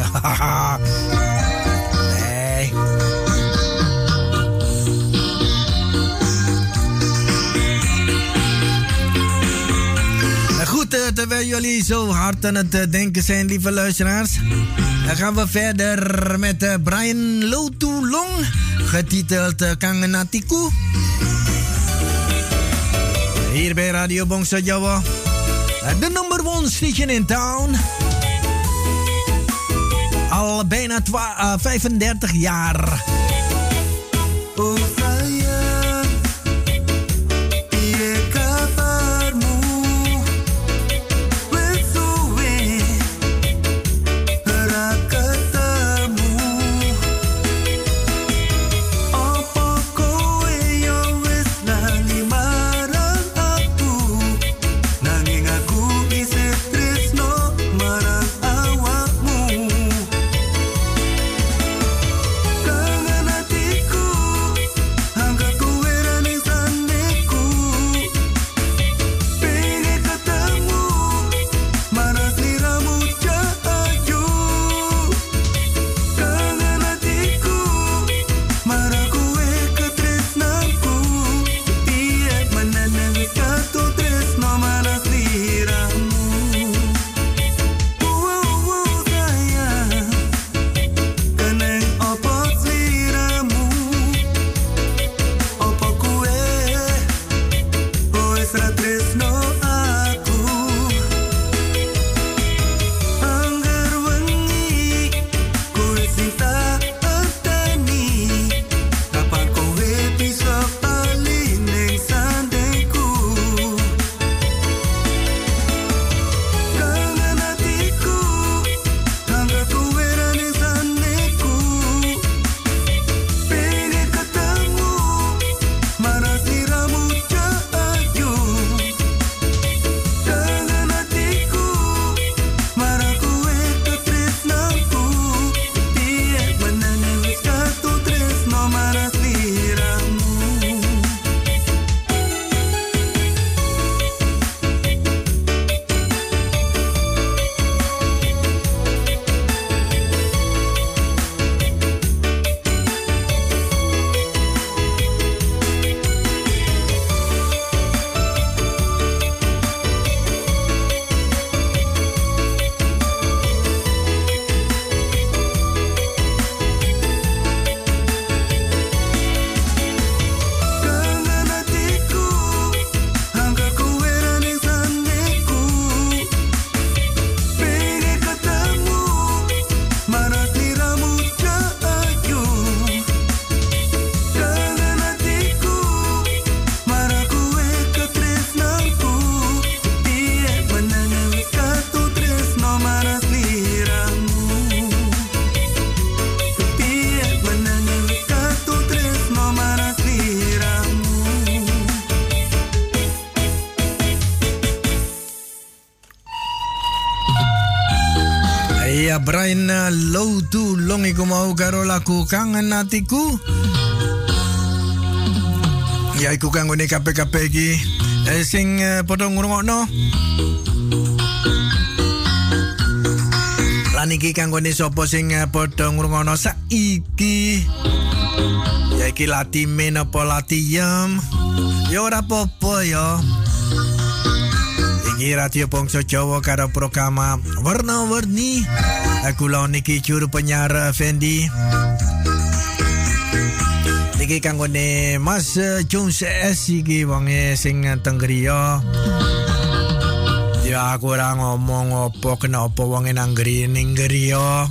Nee. Goed, uh, terwijl jullie zo hard aan het uh, denken zijn, lieve luisteraars, dan gaan we verder met uh, Brian Lotulong, getiteld uh, Kangenatiku. Hier bij Radio Bongso Jawa, de number one station in town. Al bijna twa- uh, vijfendertig jaar. Oh sayang, piye kabarmu? Wes suwe ora ketemu. Apa kowe yo wis lali marang aku? Nanging aku isih tresno marang awakmu. Kangen hatiku Iya, Brian uh, Low tu long iku mau karo lagu Kangen Hatiku. Ya iku kanggo ne kabeh-kabeh iki eh, sing uh, padha ngrungokno. Lan iki kanggo ne sapa sing uh, padha ngrungokno saiki. Ya iki lati men apa lati yam. Ya ora apa-apa ya. Iki Radio Bangsa Jawa karo program Warna-Warni. Aku lawan niki juru penyiar Fendi. Niki kanggone Mas Jones S iki wonge sing teng griya. Ya aku ora ngomong apa kena apa wonge nang griya ning griya.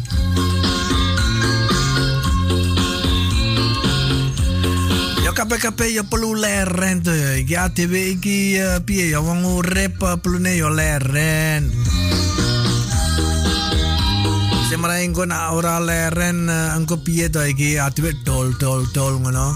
Kabeh-kabeh ya perlu leren tuh ya. Iki A D W iki uh, piye ya wong urip uh, perlune ya leren. Semara engko nak ora leren uh, engko piye to iki A D W dol dol dol ngono.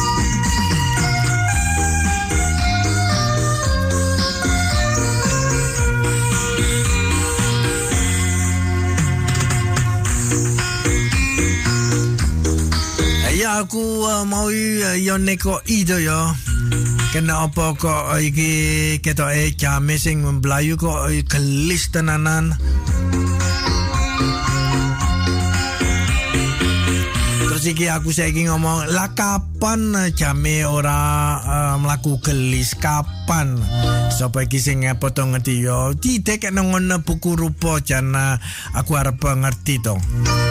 Ya aku uh, mau uh, yo neko ido yo. Kena apa kok uh, iki ketok e jame sing mlayu kok uh, gelis tenanan. Terus iki aku saiki ngomong, lah kapan uh, jame ora uh, mlaku gelis kapan? Sapa iki sing potong ngerti yo. Tidak kena ngono buku rupa jan uh, aku arep ngerti to.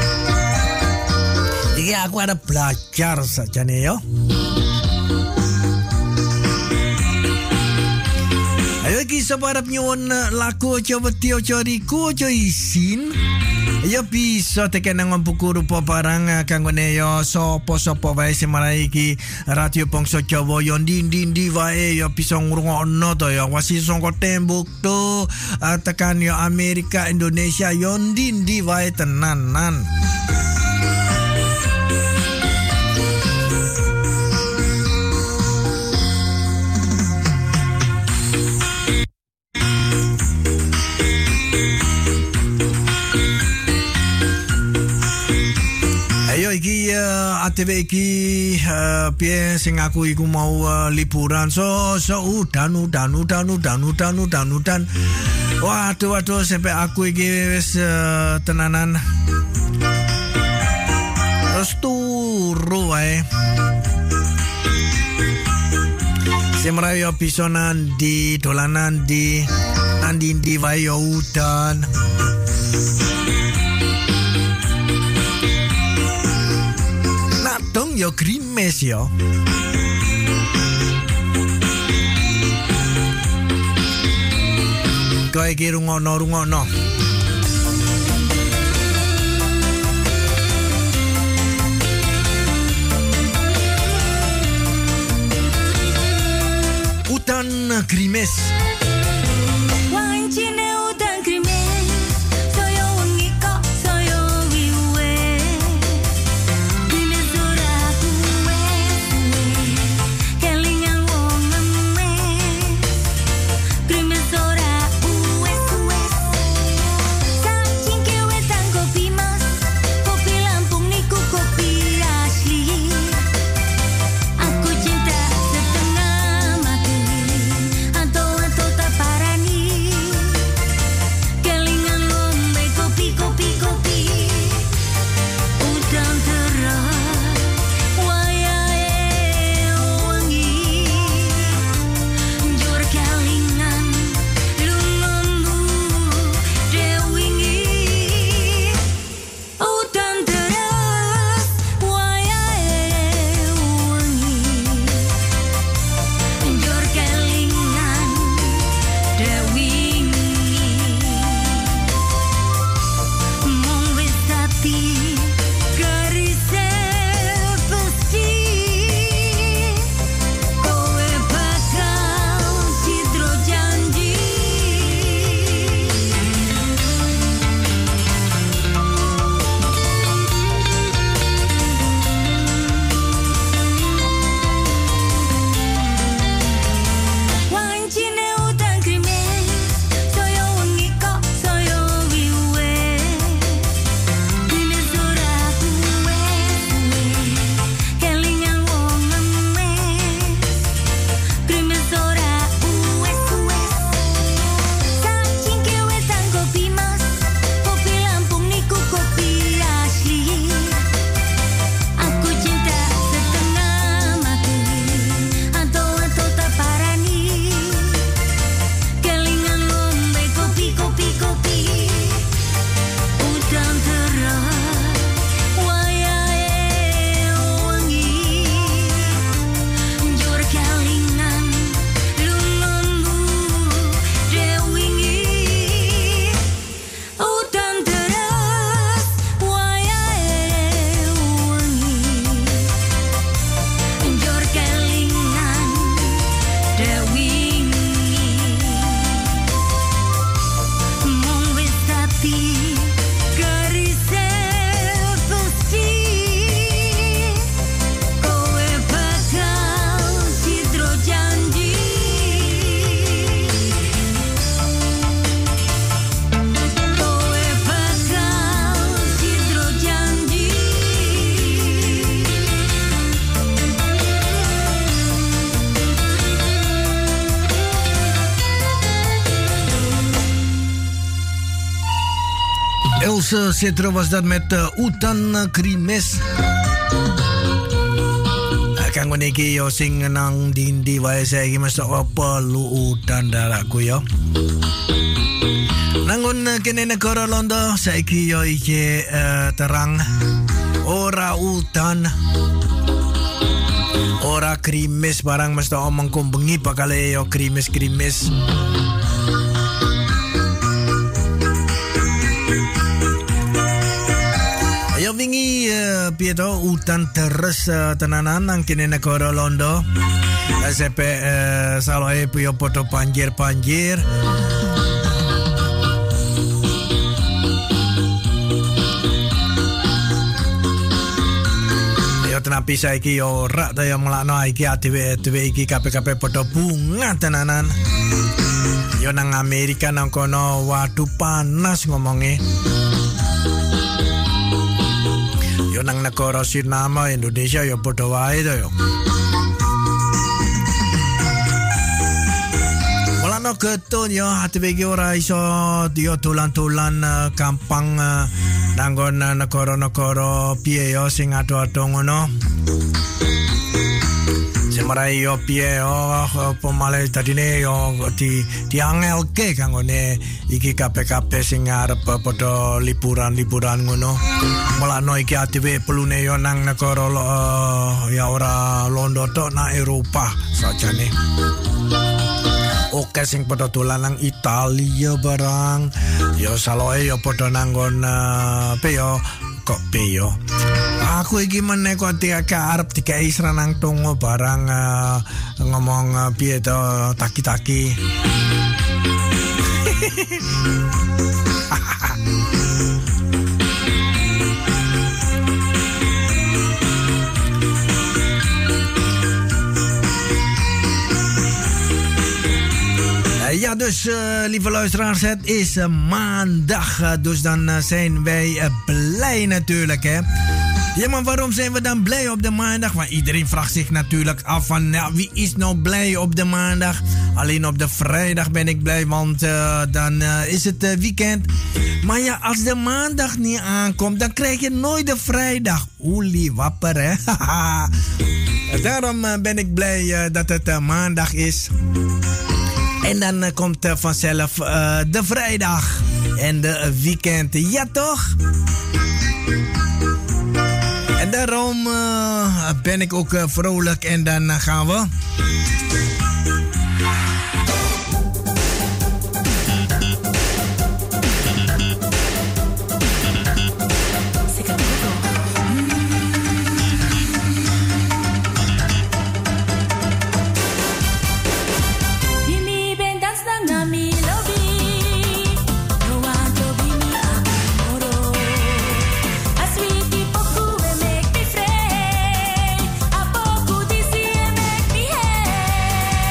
Iki aku ada belajar saja nih yo. Ayo iki sapa arep nyuwun lagu aja wedi aja riku aja isin. Ya bisa tekan nang buku rupa barang kanggone yo sapa-sapa wae sing marai iki Radio Bangsa Jawa yo ndi-ndi wae yo bisa ngrungokno to yo wasi saka tembok to tekan yo Amerika Indonesia yo ndi-ndi wae tenanan. Iki uh, A T W iki uh, piye sing aku iku mau uh, liburan so so udan udan udan udan udan udan udan waduh waduh sampai aku iki wis uh, tenanan terus turu wae semrayo bisa nandi dolanan di nandi di wae udan. Dong yo grimes yo. Kowe iki rungono-rungono. Udan grimes. Aku cinta setengah mati. Else Citro was dat met uh, Utan Krimes. Kanggo niki yo sing nang dindi wae saiki mesti apa lu udan daraku yo. Nangun kene negara Londo saiki yo iki uh, terang ora udan. Ora krimis barang mesti omong kumbengi bakal yo krimis-krimis. Yo wingi uh, pieto utan terus uh, tenanan nang kene negara Londo. Sepe uh, saloe yo poto panjir-panjir. Yo tenapi saiki yo rak ta yo melakno iki adewe-adewe iki kabeh-kabeh poto bunga tenanan. Yo nang Amerika nang kono waduh panas ngomonge. Yo nang negara Sinama Indonesia yo padha wae to yo. Mulane getun yo adewe iki ora iso yo dolan-dolan uh, gampang uh, nanggon uh, negara-negara piye yo sing ado-ado ngono. Semarai yo piye yo pemale tadine yo di diangelke kanggone iki kabeh-kabeh sing arep padha liburan-liburan ngono. Mulane iki adewe pelune yo nang negara uh, ya ora Londo tok nang Eropa sajane. Oke sing padha dolan nang Italia barang. Yo saloe yo padha nanggon uh, pe yo kok pe yo. Aku iki meneh kok arep dikai seranang tongo barang uh, ngomong uh, piye to taki-taki. Ja, dus uh, lieve luisteraars, het is uh, maandag. Uh, dus dan uh, zijn wij uh, blij natuurlijk, hè. Ja, maar waarom zijn we dan blij op de maandag? Want iedereen vraagt zich natuurlijk af van, ja, wie is nou blij op de maandag? Alleen op de vrijdag ben ik blij, want uh, dan uh, is het uh, weekend. Maar ja, als de maandag niet aankomt, dan krijg je nooit de vrijdag. Oelie wapper, hè. Daarom uh, ben ik blij uh, dat het uh, maandag is. En dan uh, komt uh, vanzelf uh, de vrijdag en de uh, weekend. Ja, toch? En daarom uh, ben ik ook uh, vrolijk en dan uh, gaan we... Make me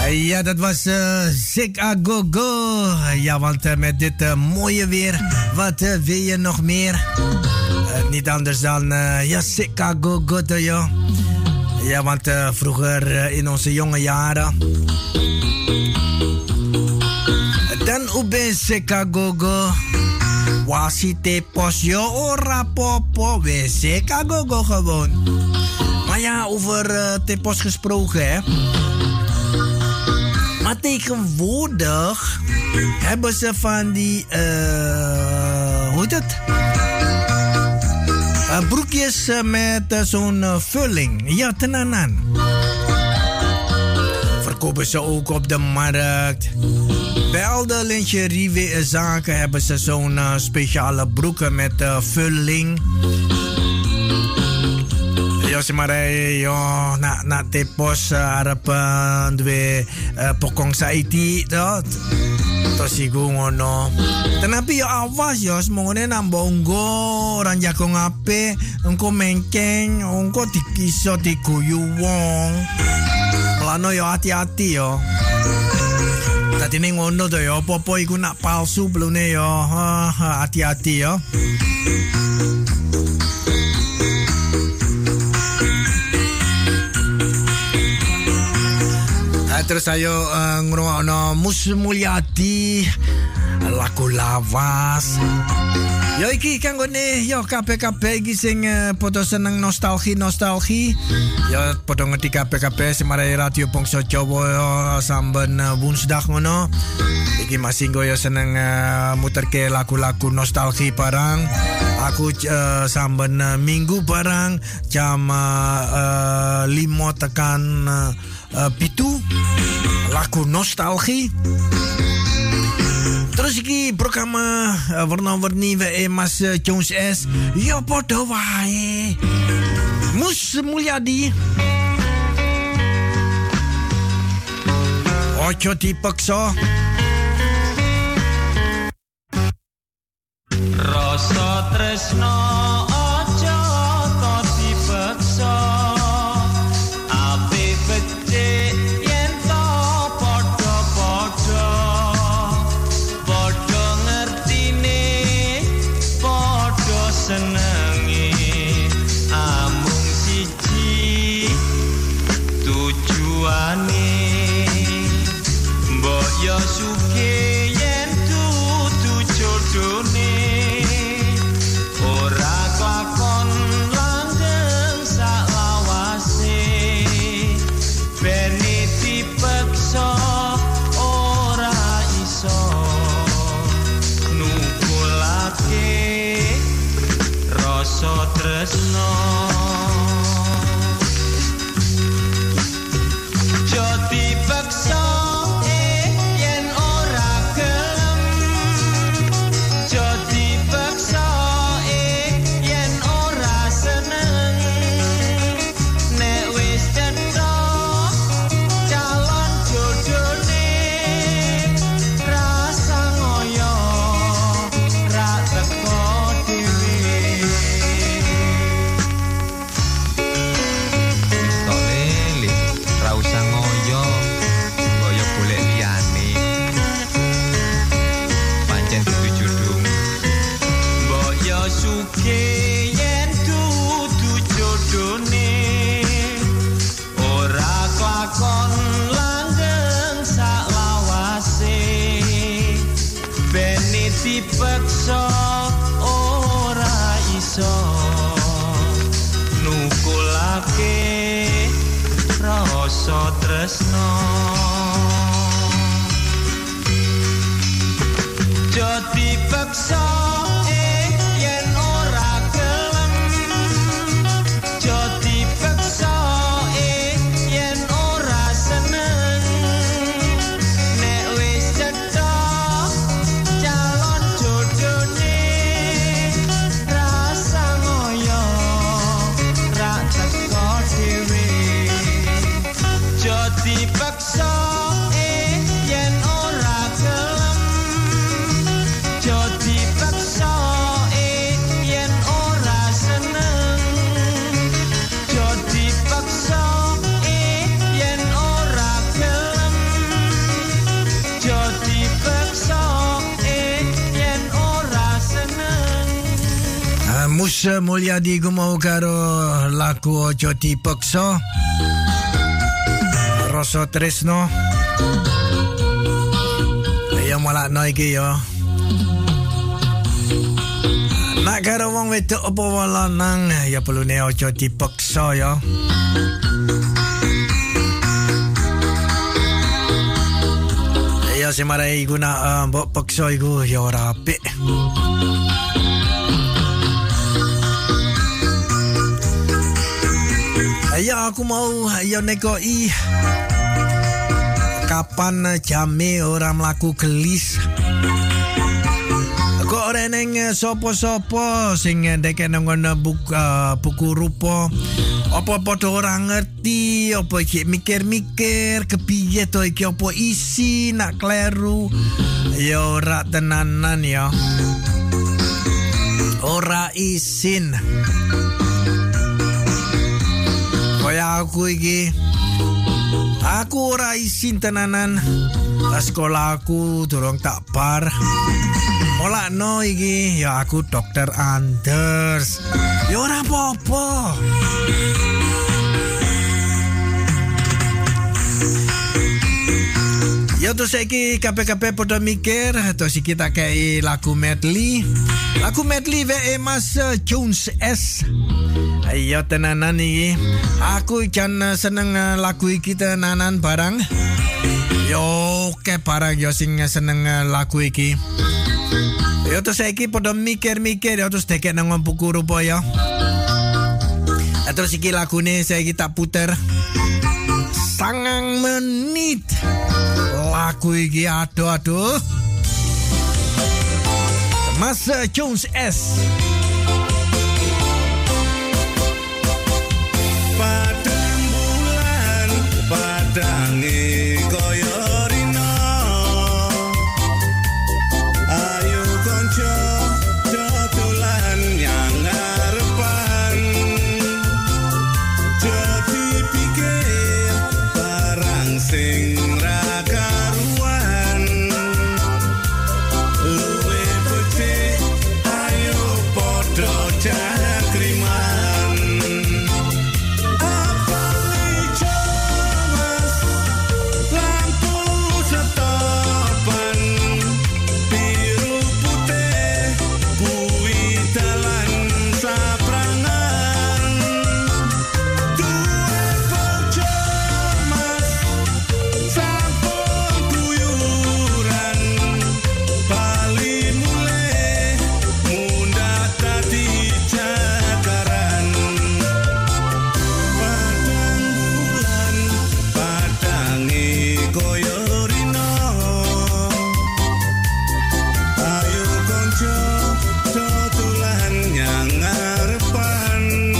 Ja, dat was uh, Zik A Go Go. Ja, want uh, met dit uh, mooie weer, wat uh, wil je nog meer? Uh, niet anders dan, uh, ja, Zik A Go Go, joh. Ja, want uh, vroeger uh, in onze jonge jaren, dan ube Zik A Go Go. Wasite pos yo ora popo, we Zik A Go Go gewoon. Maar ja, over uh, tepos gesproken, hè. Maar tegenwoordig hebben ze van die, uh, hoe heet het? Uh, broekjes uh, met uh, zo'n uh, vulling. Ja, tenanan. Verkopen ze ook op de markt. Bij al de lingeriezaken hebben ze zo'n uh, speciale broeken met uh, vulling. Yo si maray yo na na tepos harap uh, dwe uh, pokong sa iti to to sigo ngono. Tanapi yo awas yo semongone nang bongo orang jako ngape engko mengkeng engko dikiso diguyu wong. Plano yo hati-hati yo. Tadi ning ngono to yo popo iku nak palsu blune yo. Hati-hati yo. Terus ayo uh, ngrungokno Mus Mulyadi lagu lawas. Yo iki kanggone yo kabeh-kabeh iki sing uh, padha seneng nostalgi-nostalgi. Yo padha ngerti kabeh-kabeh semarai Radio Bangsa Jawa samben uh, Woensdag ngono. Iki masih yo seneng uh, muterke lagu-lagu nostalgi barang. Aku uh, samben uh, minggu barang jam uh, uh, lima tekan uh, uh, pitu lagu nostalgie. Terus iki program uh, warna-warni we Mas uh, Jones S. Ya padha wae. Mus Mulyadi. Ojo dipaksa. Rasa tresno aja to dipaksa. Ape becik yen to padha-padha. Padha ngertine, padha senenge. Amung siji tujuane. Mbok yo sugih yen dudu jodhone. Ora kakon langgeng salawase. Bene dipeksa ora iso. Nukulake rasa tresno. Jo dipeksa yen dudu jodhone. Ora klakon langgeng salawase. Bene dipeksa ora iso. Nukulake rasa tresno. Jo dipeksa dipaksa eh yen ora gelem. Jo dipaksa Mus Mulyadi gumau karo lagu Ojo Dipeksa Rasa Tresno. Ya malakno iki ya. Nak karo wong wedok apa lanang ya perlune aja dipeksa ya. Ya semarai guna mbok peksa iku ya ora apik. Ya aku mau ya nekoi kapan jame ora mlaku gelis. Kok ora neng sopo-sopo sing ndeke nang buku, buku rupa. Apa padha ora ngerti, apa iki mikir-mikir kepiye to iki apa isi nak kleru. Ya ora tenanan ya. Ora isin. Kaya aku iki aku ora isin tenanan. Sekolah aku durung tak bar. Molakno iki ya aku Dokter Anders. Ya ora apa-apa. Ya terus saiki kabeh-kabeh padha mikir terus iki tak kei lagu medley. Lagu medley wae Mas Jones S. Ayo tenanan iki. Aku jan seneng lagu iki tenanan barang. Yo ke barang yo sing seneng lagu iki. Yo terus saiki padha mikir-mikir yo terus dekek nang buku rupa ya. Terus iki lagune saiki tak puter. Sangang menit. Lagu iki aduh-aduh. Mas Jones S. Padang bulan padange koyo rino. Ayo konco dodolan yang ngarepan. Jadi pikir barang sing ra karuan. Luwe becik ayo podo cakriman. Apa ijo mas lampu setopan. Biru putih kuwi dalan saprangan. Duwe bojo mas sampun guyuran. Bali mulih mundak dadi jakaran. Padang bulan padange koyo rino. Ayo konco dodolan yang ngarepan.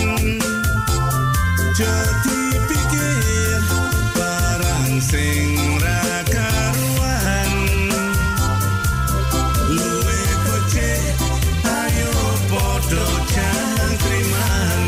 Jadi pikir barang sing ra karuan. Luwe becik ayo podo jangkriman.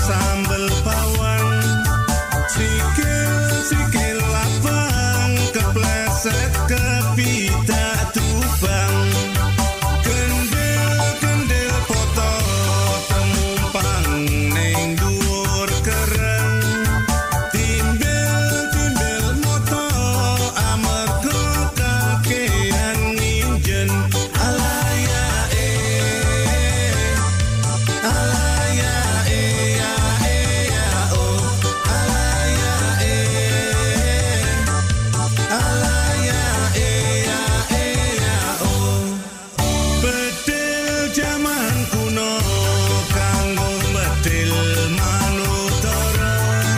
sambel bawang, sikil-sikil lapang, kepleset kepidak tubang, kendil-kendil foto temumpang ning dhuwur kereng, timbel-timbel moto amarga kakehan nginjen alaya eh alaya eh ya eh ya oh alaya eh alaya eh ya eh ya oh bedil jaman kuno kanggo bedil manutara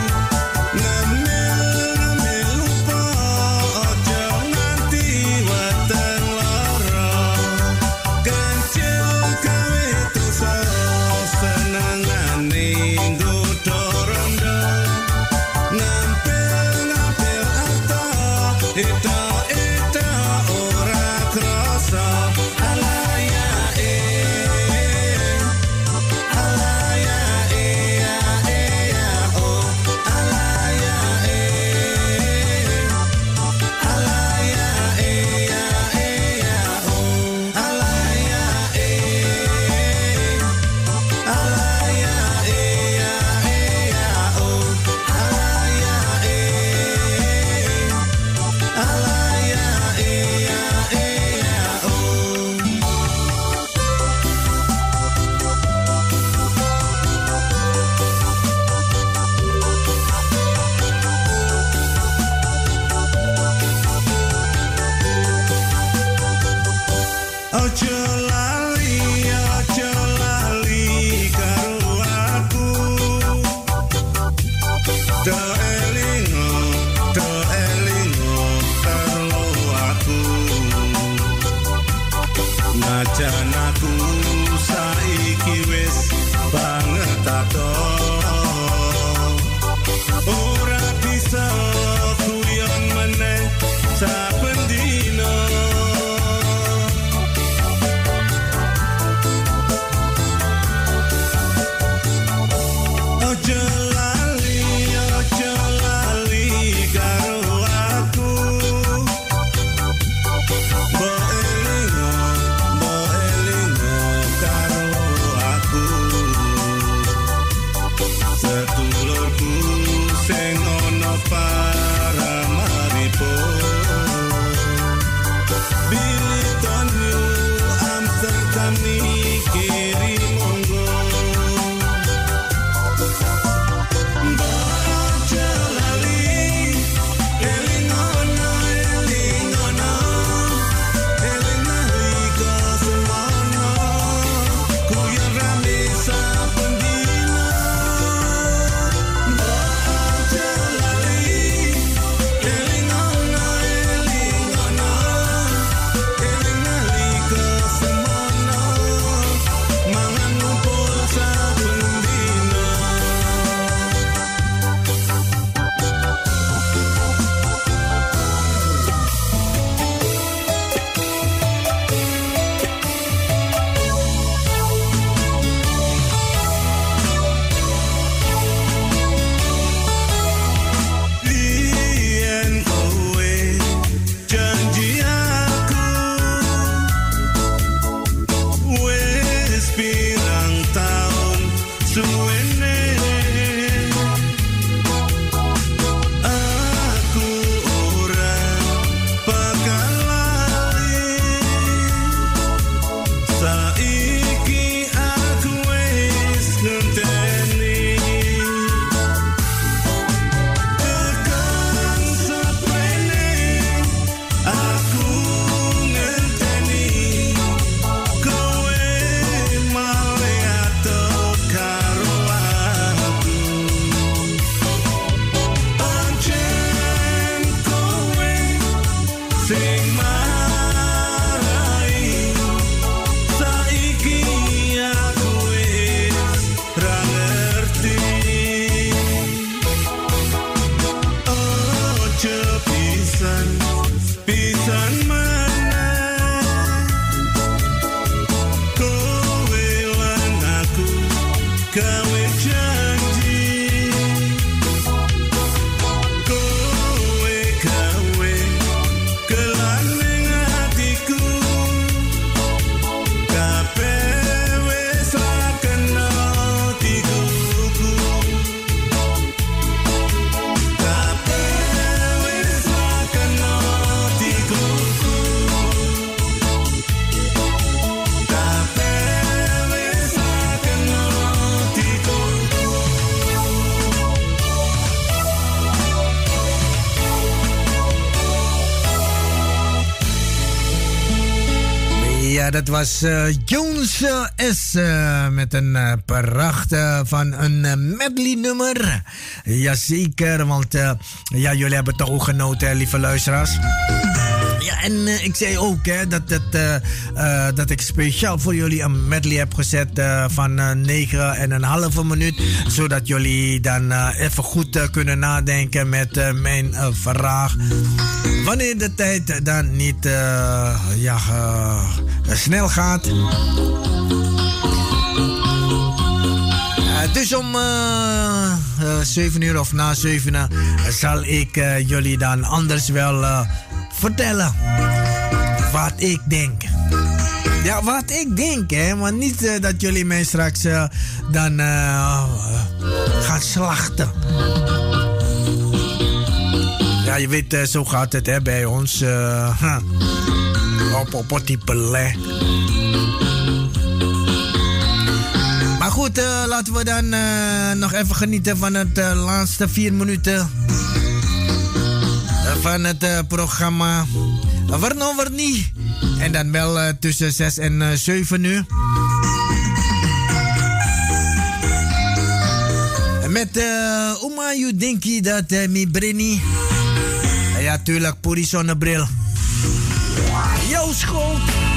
ngemil-ngemil lupa aja nganti weteng lara kancil gawe dosa senengane nggodha rondo ngampil-ngampil arta eta-eta ora krasa alaya eh alaya eh ya eh ya oh alaya eh alaya eh ya eh ya oh alaya eh alaya eh ya eh ya oh alaya eh alaya eh ya eh ya oh ojo lali ojo lali karo aku do elingo do elingo karo aku najan aku saiki wis banget ato ora bisa kuyon meneh saben dina ojo lali ojo lali karo aku bo elingo bo elingo karo aku sedulurku sing ana Paramaribo Billy on you Amsterdam kiri monggo ojo lali elingono elingono elinalika semono kuyon rame saben dina ojo lali elingono elingono elinalika semono mangan ngumpul saben dina Yen kowe janji aku wis pirang taun suwene aku ora bakal lali saiki aku wis ngenteni tekan saprene aku ngenteni kowe male ato karo aku pancen kowe sing marai saiki aku wis ra ngerti ojo pisan pisan maneh kowe lan aku gawe janji Ja, dat was uh, Jones uh, S. Uh, met een uh, prachtig van een uh, medley nummer. Jazeker, want uh, ja, jullie hebben toch ook genoten, lieve luisteraars. Ja, en uh, ik zei ook hè, dat, dat, uh, uh, dat ik speciaal voor jullie een medley heb gezet uh, van uh, negen en een halve minuut. Zodat jullie dan uh, even goed uh, kunnen nadenken met uh, mijn uh, vraag. Wanneer de tijd dan niet uh, ja, uh, snel gaat. Uh, dus om uh, uh, zeven uur of na zeven uur uh, zal ik uh, jullie dan anders wel uh, vertellen wat ik denk. Ja, wat ik denk, hè. Maar niet uh, dat jullie mij straks uh, dan uh, uh, gaan slachten. Ja, je weet, uh, zo gaat het hè, bij ons. Uh, huh. Op, op, op die pelé. Maar goed, uh, laten we dan uh, nog even genieten van het uh, laatste vier minuten van het uh, programma Warno Warni. En dan wel uh, tussen zes en zeven uur. Met uh, Uma you denki dat uh, mi brenni. Ja, tuurlijk, Puri zonnebril. Jouw schoot.